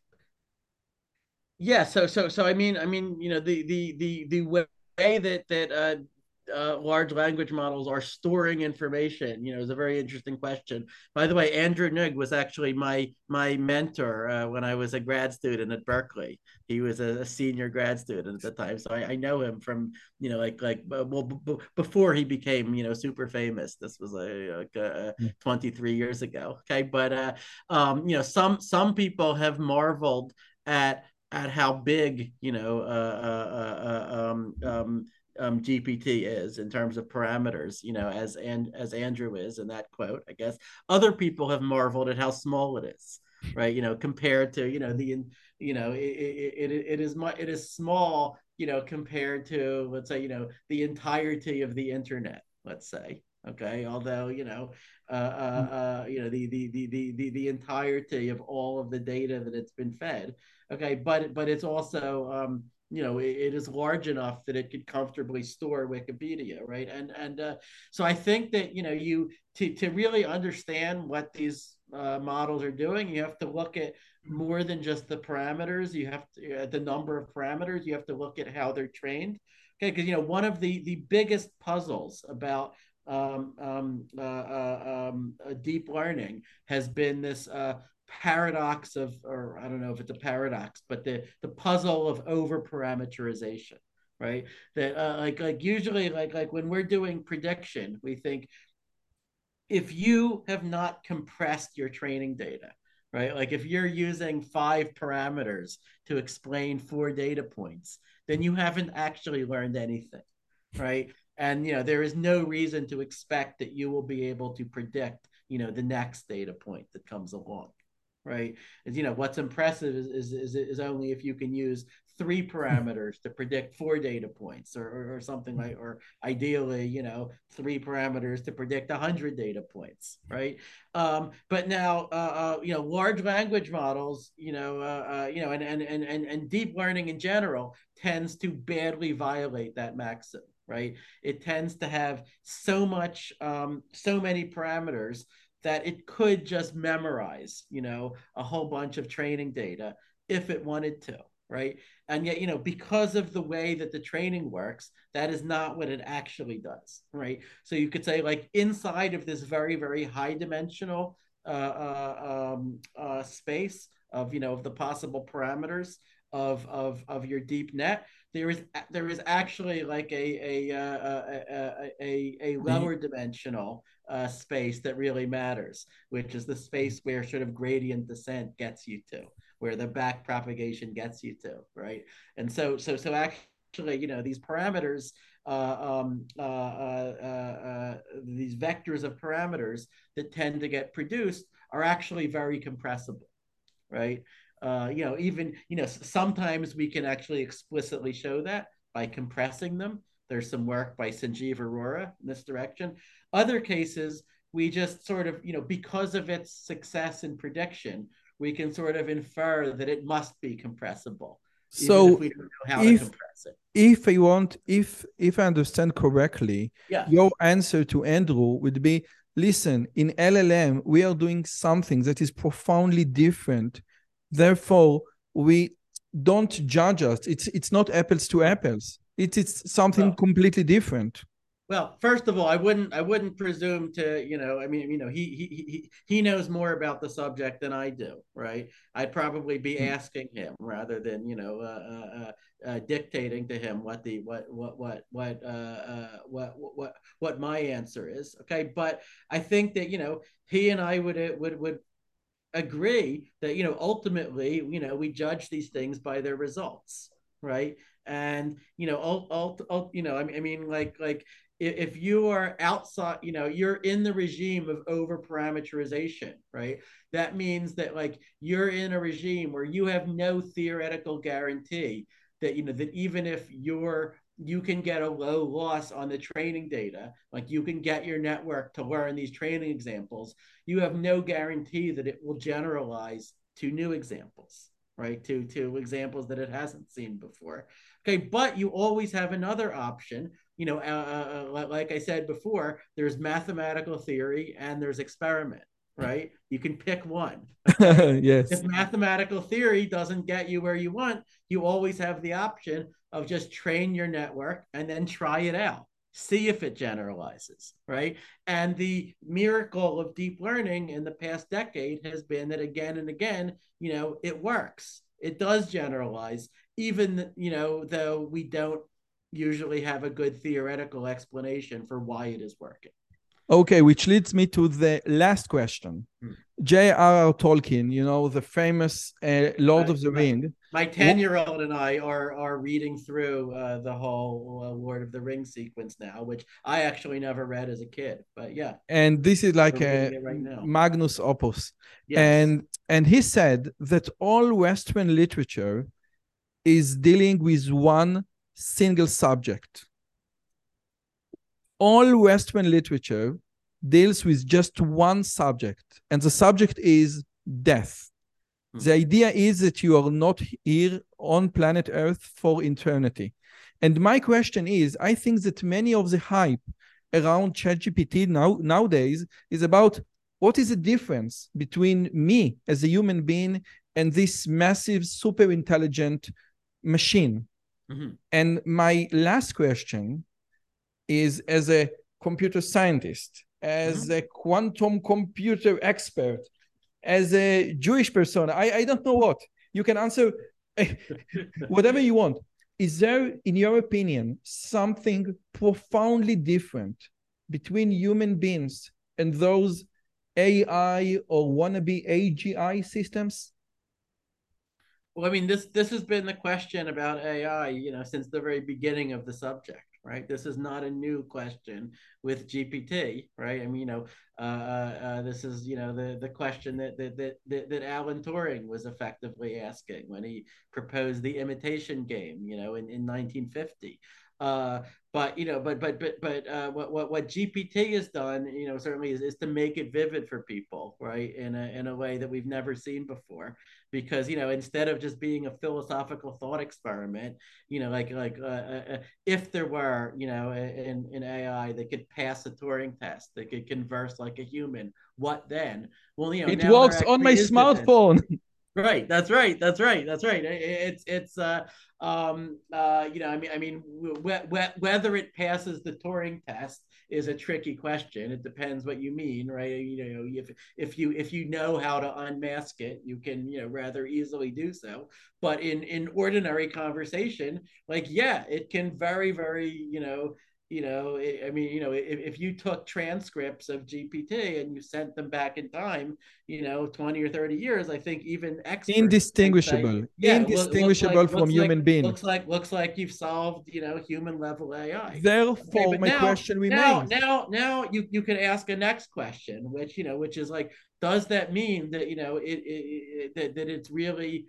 yeah. So, so, so, I mean, I mean, you know, the, the, the, the way that, that, uh, uh, large language models are storing information, you know, is a very interesting question. By the way, Andrew Ng was actually my my mentor uh, when I was a grad student at Berkeley. He was a, a senior grad student at the time, so I, I know him from, you know, like like well b- b- before he became, you know, super famous. This was like, like uh, twenty-three years ago. Okay, but uh, um, you know, some some people have marveled at at how big, you know, uh, uh, uh, um, um, um, G P T is in terms of parameters, you know, as and as Andrew is in that quote, I guess. Other people have marveled at how small it is, right? You know, compared to, you know, the, you know, it it, it, it is much, it is small, you know, compared to, let's say, you know, the entirety of the internet, let's say. Okay, although, you know, uh, uh, uh, you know, the, the the the the the entirety of all of the data that it's been fed. Okay, but but it's also um, you know, it, it is large enough that it could comfortably store Wikipedia, right? And and uh, so I think that, you know, you to to really understand what these uh, models are doing, you have to look at more than just the parameters. You have to at the number of parameters. You have to look at how they're trained. Okay, because, you know, one of the the biggest puzzles about um, um, uh, uh, um, uh, deep learning has been this uh, paradox of, or I don't know if it's a paradox, but the the puzzle of over parameterization, right? That uh, like like usually like like when we're doing prediction, we think if you have not compressed your training data, right? Like if you're using five parameters to explain four data points, then you haven't actually learned anything, right? And, you know, there is no reason to expect that you will be able to predict, you know, the next data point that comes along, right? And, you know, what's impressive is, is, is, is only if you can use three parameters to predict four data points, or, or, or something like, or ideally, you know, three parameters to predict one hundred data points, right? Um, but now, uh, uh, you know, large language models, you know, uh, uh, you know, and, and, and, and, and deep learning in general tends to badly violate that maxim, right? It tends to have so much, um, so many parameters that it could just memorize, you know, a whole bunch of training data if it wanted to, right? And yet, you know, because of the way that the training works, that is not what it actually does, right? So you could say, like, inside of this very, very high dimensional uh, uh, um, uh, space of, you know, of the possible parameters of, of, of your deep net, there is there is actually like a a uh, a, a, a lower dimensional uh, space that really matters, which is the space where sort of gradient descent gets you to, where the back propagation gets you to, right? And so so so actually, you know, these parameters, uh, um, uh, uh, uh, these vectors of parameters that tend to get produced are actually very compressible, right? Uh, you know, even, you know, sometimes we can actually explicitly show that by compressing them. There's some work by Sanjeev Arora in this direction. Other cases, we just sort of, you know, because of its success in prediction, we can sort of infer that it must be compressible, even if So we don't know how to if compress it. if I want, if if I understand correctly, Yeah. your answer to Andrew would be, listen, in L L M, we are doing something that is profoundly different. Therefore, we don't judge us. It's it's not apples to apples. It, it's something Well, completely different. Well, first of all, I wouldn't I wouldn't presume to, you know, I mean, you know, he he he he knows more about the subject than I do, right? I'd probably be asking him rather than, you know, uh, uh, uh, dictating to him what the what what what what uh, uh, what what what my answer is. Okay, but I think that, you know, he and I would would would agree that, you know, ultimately, you know, we judge these things by their results, right? And, you know, ult, ult, ult, you know, I mean, I mean, like, like if you are outside, you know, you're in the regime of over parameterization, right? That means that, like, you're in a regime where you have no theoretical guarantee that, you know, that even if you're you can get a low loss on the training data, like you can get your network to learn these training examples, you have no guarantee that it will generalize to new examples, right? To, to examples that it hasn't seen before. Okay, but you always have another option. You know, uh, uh, like I said before, there's mathematical theory and there's experiment, right? You can pick one. Okay. If Yes. mathematical theory doesn't get you where you want, you always have the option of just train your network and then try it out, see if it generalizes, right? And the miracle of deep learning in the past decade has been that again and again, you know, it works. It does generalize, even, you know, though we don't usually have a good theoretical explanation for why it is working. Okay, which leads me to the last question. Hmm. J R R. Tolkien, you know, the famous uh, Lord Uh, of the my, Ring. my ten-year-old and I are are reading through uh, the whole uh, Lord of the Rings sequence now, which I actually never read as a kid. But yeah, And this is we're like reading a it right now. magnus opus. Yes. And and he said that all Western literature is dealing with one single subject. All Western literature deals with just one subject, and the subject is death. Hmm. The idea is that you are not here on planet Earth for eternity. And my question is, I think that many of the hype around ChatGPT now, nowadays is about what is the difference between me as a human being and this massive, super intelligent machine. Mm-hmm. And my last question is, as a computer scientist, as Mm-hmm. a quantum computer expert, as a Jewish person, I, I don't know what. You can answer whatever you want. Is there, in your opinion, something profoundly different between human beings and those A I or wannabe A G I systems? Well, I mean, this this has been the question about A I, you know, since the very beginning of the subject, right? This is not a new question with G P T, right? I mean, you know, uh, uh, this is, you know, the the question that that that that Alan Turing was effectively asking when he proposed the imitation game, you know, in, in nineteen fifty. Uh, but you know, but but but but uh, what what what G P T has done, you know, certainly is, is to make it vivid for people, right, in a in a way that we've never seen before. Because you know, instead of just being a philosophical thought experiment, you know, like like uh, uh, if there were, you know, an an A I that could pass a Turing test, that could converse like a human, what then? Well, you know, It now there works on my actually is this. smartphone. Right. That's right. That's right. That's right. It's it's uh um uh you know I mean I mean wh- wh- whether it passes the Turing test is a tricky question. It depends what you mean, right? You know, if if you if you know how to unmask it, you can, you know, rather easily do so. But in in ordinary conversation, like yeah, it can very very you know you know, I mean, you know, if, if you took transcripts of G P T and you sent them back in time, you know, twenty or thirty years, I think even experts might say, Indistinguishable. yeah, look, looks Indistinguishable like, from looks like, human being. looks like, looks like you've solved, you know, human level A I. Okay, Therefore, but my now, question now, remains. now, now you, you can ask a next question, which, you know, which is like, does that mean that, you know, it, it, it that, that it's really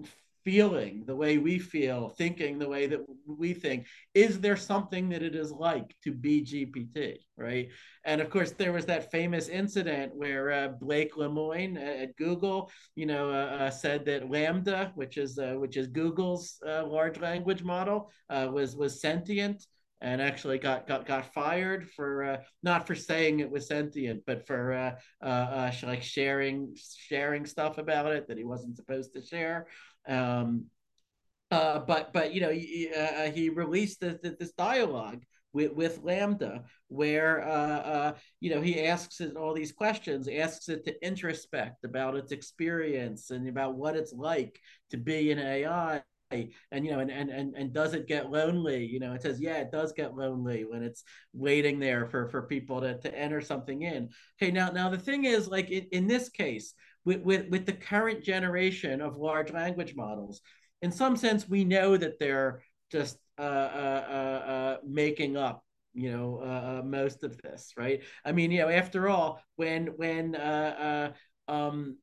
feeling the way we feel, thinking the way that we think? Is there something that it is like to be G P T, right? And of course, there was that famous incident where uh, Blake Lemoine at Google, you know, uh, uh, said that LaMDA, which is uh, which is Google's uh, large language model, uh, was was sentient, and actually got got got fired for uh, not for saying it was sentient, but for uh, uh, uh, like sharing sharing stuff about it that he wasn't supposed to share. Um, uh, but but you know he, uh, he released this, this dialogue with, with LaMDA where uh, uh, you know he asks it all these questions, asks it to introspect about its experience and about what it's like to be an A I. And you know, and, and and and does it get lonely? You know, it says, yeah, it does get lonely when it's waiting there for for people to, to enter something in. Okay, now now the thing is, like in, in this case, with, with with the current generation of large language models, in some sense, we know that they're just uh, uh, uh, uh, making up, you know, uh, uh, most of this, right? I mean, you know, after all, when when uh, uh, um,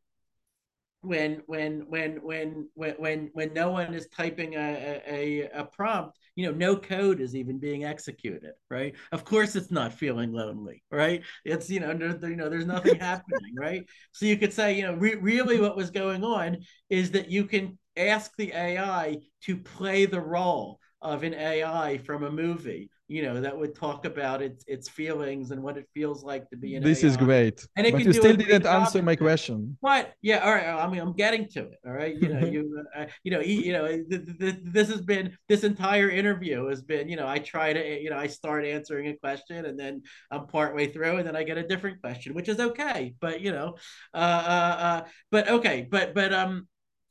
when when when when when when when no one is typing a, a a prompt, you know, no code is even being executed, right? Of course it's not feeling lonely, right? It's, you know, there, you know, there's nothing happening, right? So you could say, you know, re- really what was going on is that you can ask the A I to play the role of an A I from a movie, you know, that would talk about its its feelings and what it feels like to be an This is A I, great. and it But can you do a still great didn't job answer at my that. question. But yeah, all right. I mean, I'm getting to it. All right, you know, you, uh, you know, you know, th- th- this has been this entire interview has been, you know, I try to, you know, I start answering a question and then I'm partway through and then I get a different question, which is okay. But you know, uh, uh, uh but okay, but but um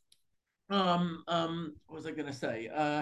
um um, what was I gonna say? Uh,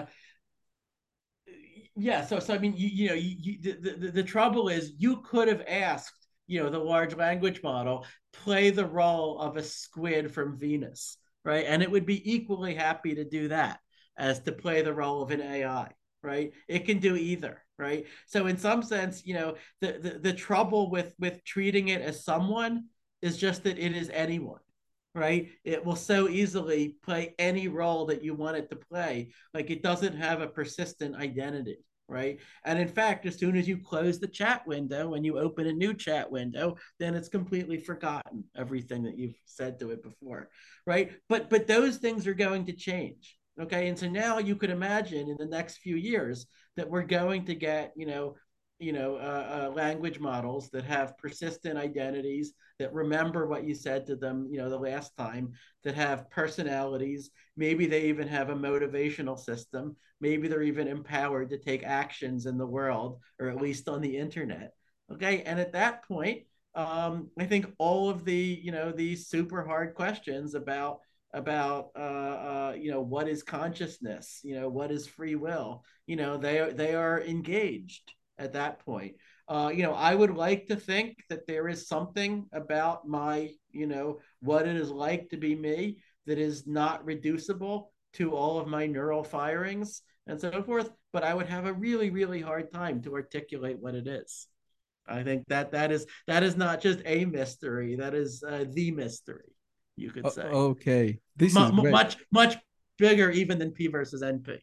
yeah. So so I mean, you you know, you, you the, the the trouble is you could have asked, you know, the large language model play the role of a squid from Venus, right? And it would be equally happy to do that as to play the role of an A I, right? It can do either, right? So in some sense, you know, the the, the trouble with with treating it as someone is just that it is anyone, right? It will so easily play any role that you want it to play. Like it doesn't have a persistent identity, right? And in fact, as soon as you close the chat window and you open a new chat window, then it's completely forgotten everything that you've said to it before, right? But but those things are going to change. Okay. And so now you could imagine in the next few years that we're going to get, you know, you know, uh, uh, language models that have persistent identities, that remember what you said to them, you know, the last time, that have personalities. Maybe they even have a motivational system. Maybe they're even empowered to take actions in the world, or at least on the internet. Okay. And at that point, um, I think all of the, you know, these super hard questions about about uh, uh, you know, what is consciousness, you know, what is free will, you know, they are they are engaged at that point. Uh, you know, I would like to think that there is something about my, you know, what it is like to be me that is not reducible to all of my neural firings and so forth, but I would have a really, really hard time to articulate what it is. I think that that is that is not just a mystery, that is uh, the mystery, you could say. Uh, okay, this is M- great. much, much bigger even than P versus N P.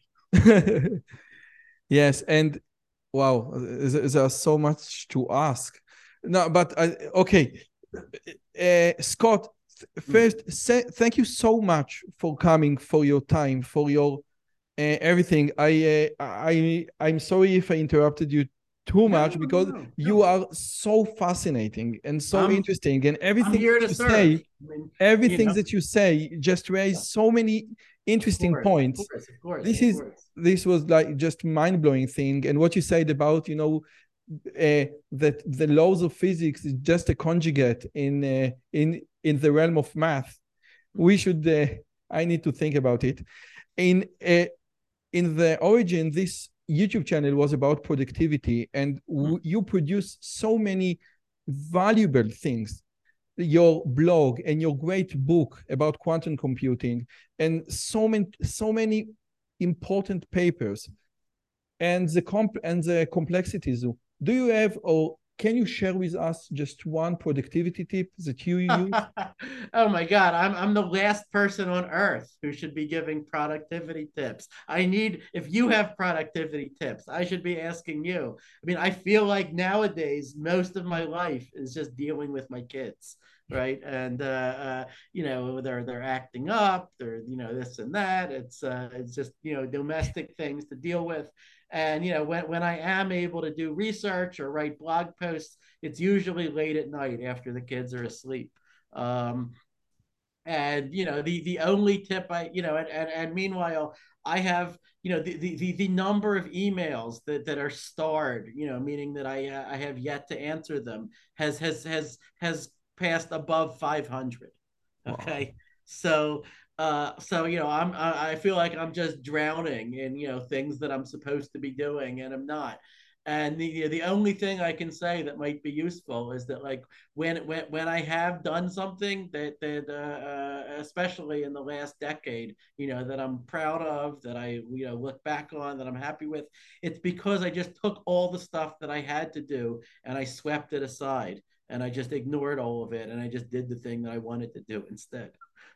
Yes, and wow, there's so much to ask. No, but uh, okay, uh, Scott, first, mm. thank you so much for coming, for your time, for your uh, everything. I, uh, I, I'm sorry if I interrupted you too much, no, because no, no. you are so fascinating and so I'm, interesting, and everything that you serve. say, I mean, everything you know. that you say just raised so many interesting of course, points. Of course, of course, this of is course. This was like just mind-blowing thing, and what you said about, you know, uh, that the laws of physics is just a conjugate in uh, in in the realm of math. We should. Uh, I need to think about it. In uh, in the origin, this YouTube channel was about productivity, and w- you produce so many valuable things. Your blog and your great book about quantum computing, and so many so many important papers, and the comp and the complexities. Do you have, or can you share with us just one productivity tip that you use? Oh my God, I'm I'm the last person on earth who should be giving productivity tips. I need, if you have productivity tips, I should be asking you. I mean, I feel like nowadays most of my life is just dealing with my kids, right? And uh, uh, you know, they're they're acting up, they're, you know, this and that. It's uh, it's just, you know, domestic things to deal with. And, you know, when, when I am able to do research or write blog posts, it's usually late at night after the kids are asleep. Um, and, you know, the, the only tip I, you know, and, and, and meanwhile, I have, you know, the, the, the number of emails that, that are starred, you know, meaning that I, uh, I have yet to answer them, has, has, has, has passed above five hundred. Okay. Wow. So, uh, so, you know, I'm, I feel like I'm just drowning in, you know, things that I'm supposed to be doing and I'm not. And the the only thing I can say that might be useful is that, like, when when when I have done something that that uh, uh, especially in the last decade, you know, that I'm proud of, that I, you know, look back on, that I'm happy with, it's because I just took all the stuff that I had to do and I swept it aside, and I just ignored all of it, and I just did the thing that I wanted to do instead.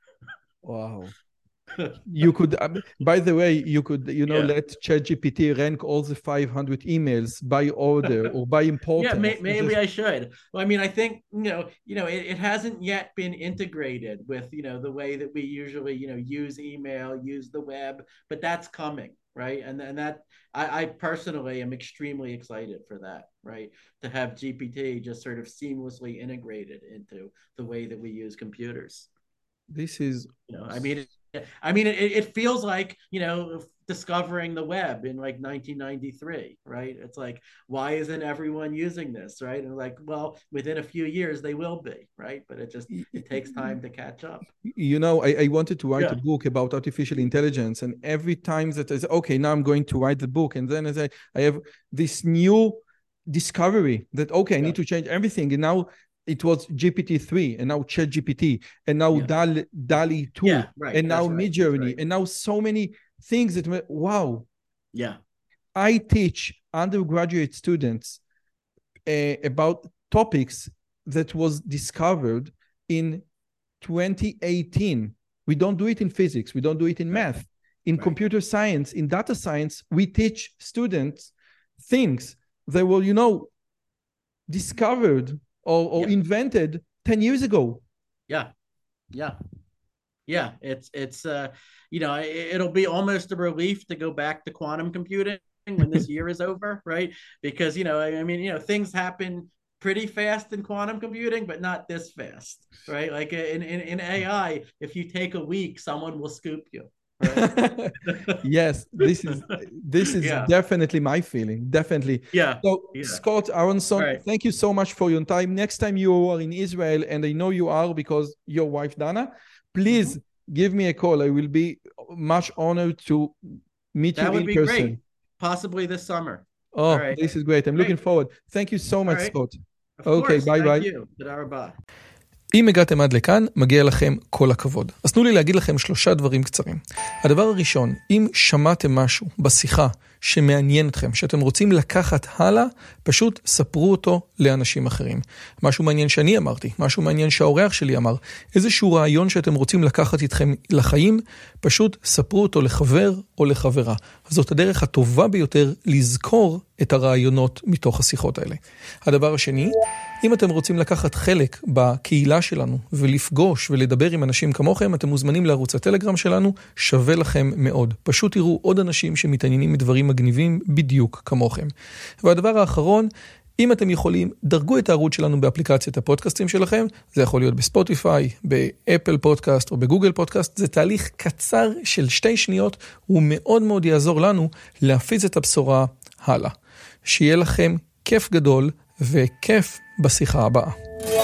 Wow. You could, um, by the way, you could, you know, yeah. let ChatGPT rank all the five hundred emails by order or by importance. Yeah, may, maybe just... I should. Well, I mean, I think, you know, you know, it, it hasn't yet been integrated with, you know, the way that we usually, you know, use email, use the web, but that's coming, right? And and that I, I personally am extremely excited for that, right? To have G P T just sort of seamlessly integrated into the way that we use computers. This is, you know, I mean, it, I mean, it, it feels like, you know, discovering the web in like nineteen ninety-three, right? It's like, why isn't everyone using this, right? And like, well, within a few years they will be, right? But it just, it takes time to catch up. You know, I, I wanted to write yeah. a book about artificial intelligence, and every time that I say, okay, now I'm going to write the book, and then as I, I have this new discovery that, okay, I yeah. need to change everything, and now it was G P T three, and now ChatGPT, and now yeah. DALL-E, DALL-E two, yeah, right. and now right. Midjourney, right. and now so many things that, wow. Yeah. I teach undergraduate students uh, about topics that was discovered in twenty eighteen. We don't do it in physics. We don't do it in right. math. In right. computer science, in data science, we teach students things that were, you know, discovered or, or yeah. invented ten years ago. Yeah. Yeah. Yeah. It's, it's, uh, you know, it, it'll be almost a relief to go back to quantum computing when this year is over, right? Because, you know, I mean, you know, things happen pretty fast in quantum computing, but not this fast, right? Like in, in, in A I, if you take a week, someone will scoop you. Right? Yes, this is this is yeah. definitely my feeling. Definitely. Yeah. So yeah. Scott Aronson, right. thank you so much for your time. Next time you are in Israel, and I know you are because your wife Dana, please mm-hmm. give me a call. I will be much honored to meet that you would in be person. Great. Possibly this summer. Oh, right. This is great. I'm great. looking forward. Thank you so much, right. Scott. Of okay, course. bye Thank bye. You. אם הגעתם עד לכאן, מגיע לכם כל הכבוד. אז תנו לי להגיד לכם שלושה דברים קצרים. הדבר הראשון, אם שמעתם משהו בשיחה שמעניין אתכם, שאתם רוצים לקחת הלאה, פשוט ספרו אותו לאנשים אחרים. משהו מעניין שאני אמרתי, משהו מעניין שהאורח שלי אמר, איזשהו רעיון שאתם רוצים לקחת איתכם לחיים, פשוט ספרו אותו לחבר או לחברה. זאת הדרך הטובה ביותר לזכור את הרעיונות מתוך השיחות האלה. הדבר השני, אם אתם רוצים לקחת חלק בקהילה שלנו ולפגוש ולדבר עם אנשים כמוכם, אתם מוזמנים לערוץ הטלגרם שלנו, שווה לכם מאוד. פשוט תראו עוד אנשים שמתעניינים מדברים מגניבים בדיוק כמוכם. והדבר האחרון, אם אתם יכולים, דרגו את הערוץ שלנו באפליקציית הפודקאסטים שלכם, זה יכול להיות בספוטיפיי, באפל פודקאסט או בגוגל פודקאסט, זה תהליך קצר של שתי שניות, הוא מאוד מאוד יעזור לנו להפיץ את הבשורה הלאה. שיהיה לכם כיף גדול וכיף בשיחה הבאה.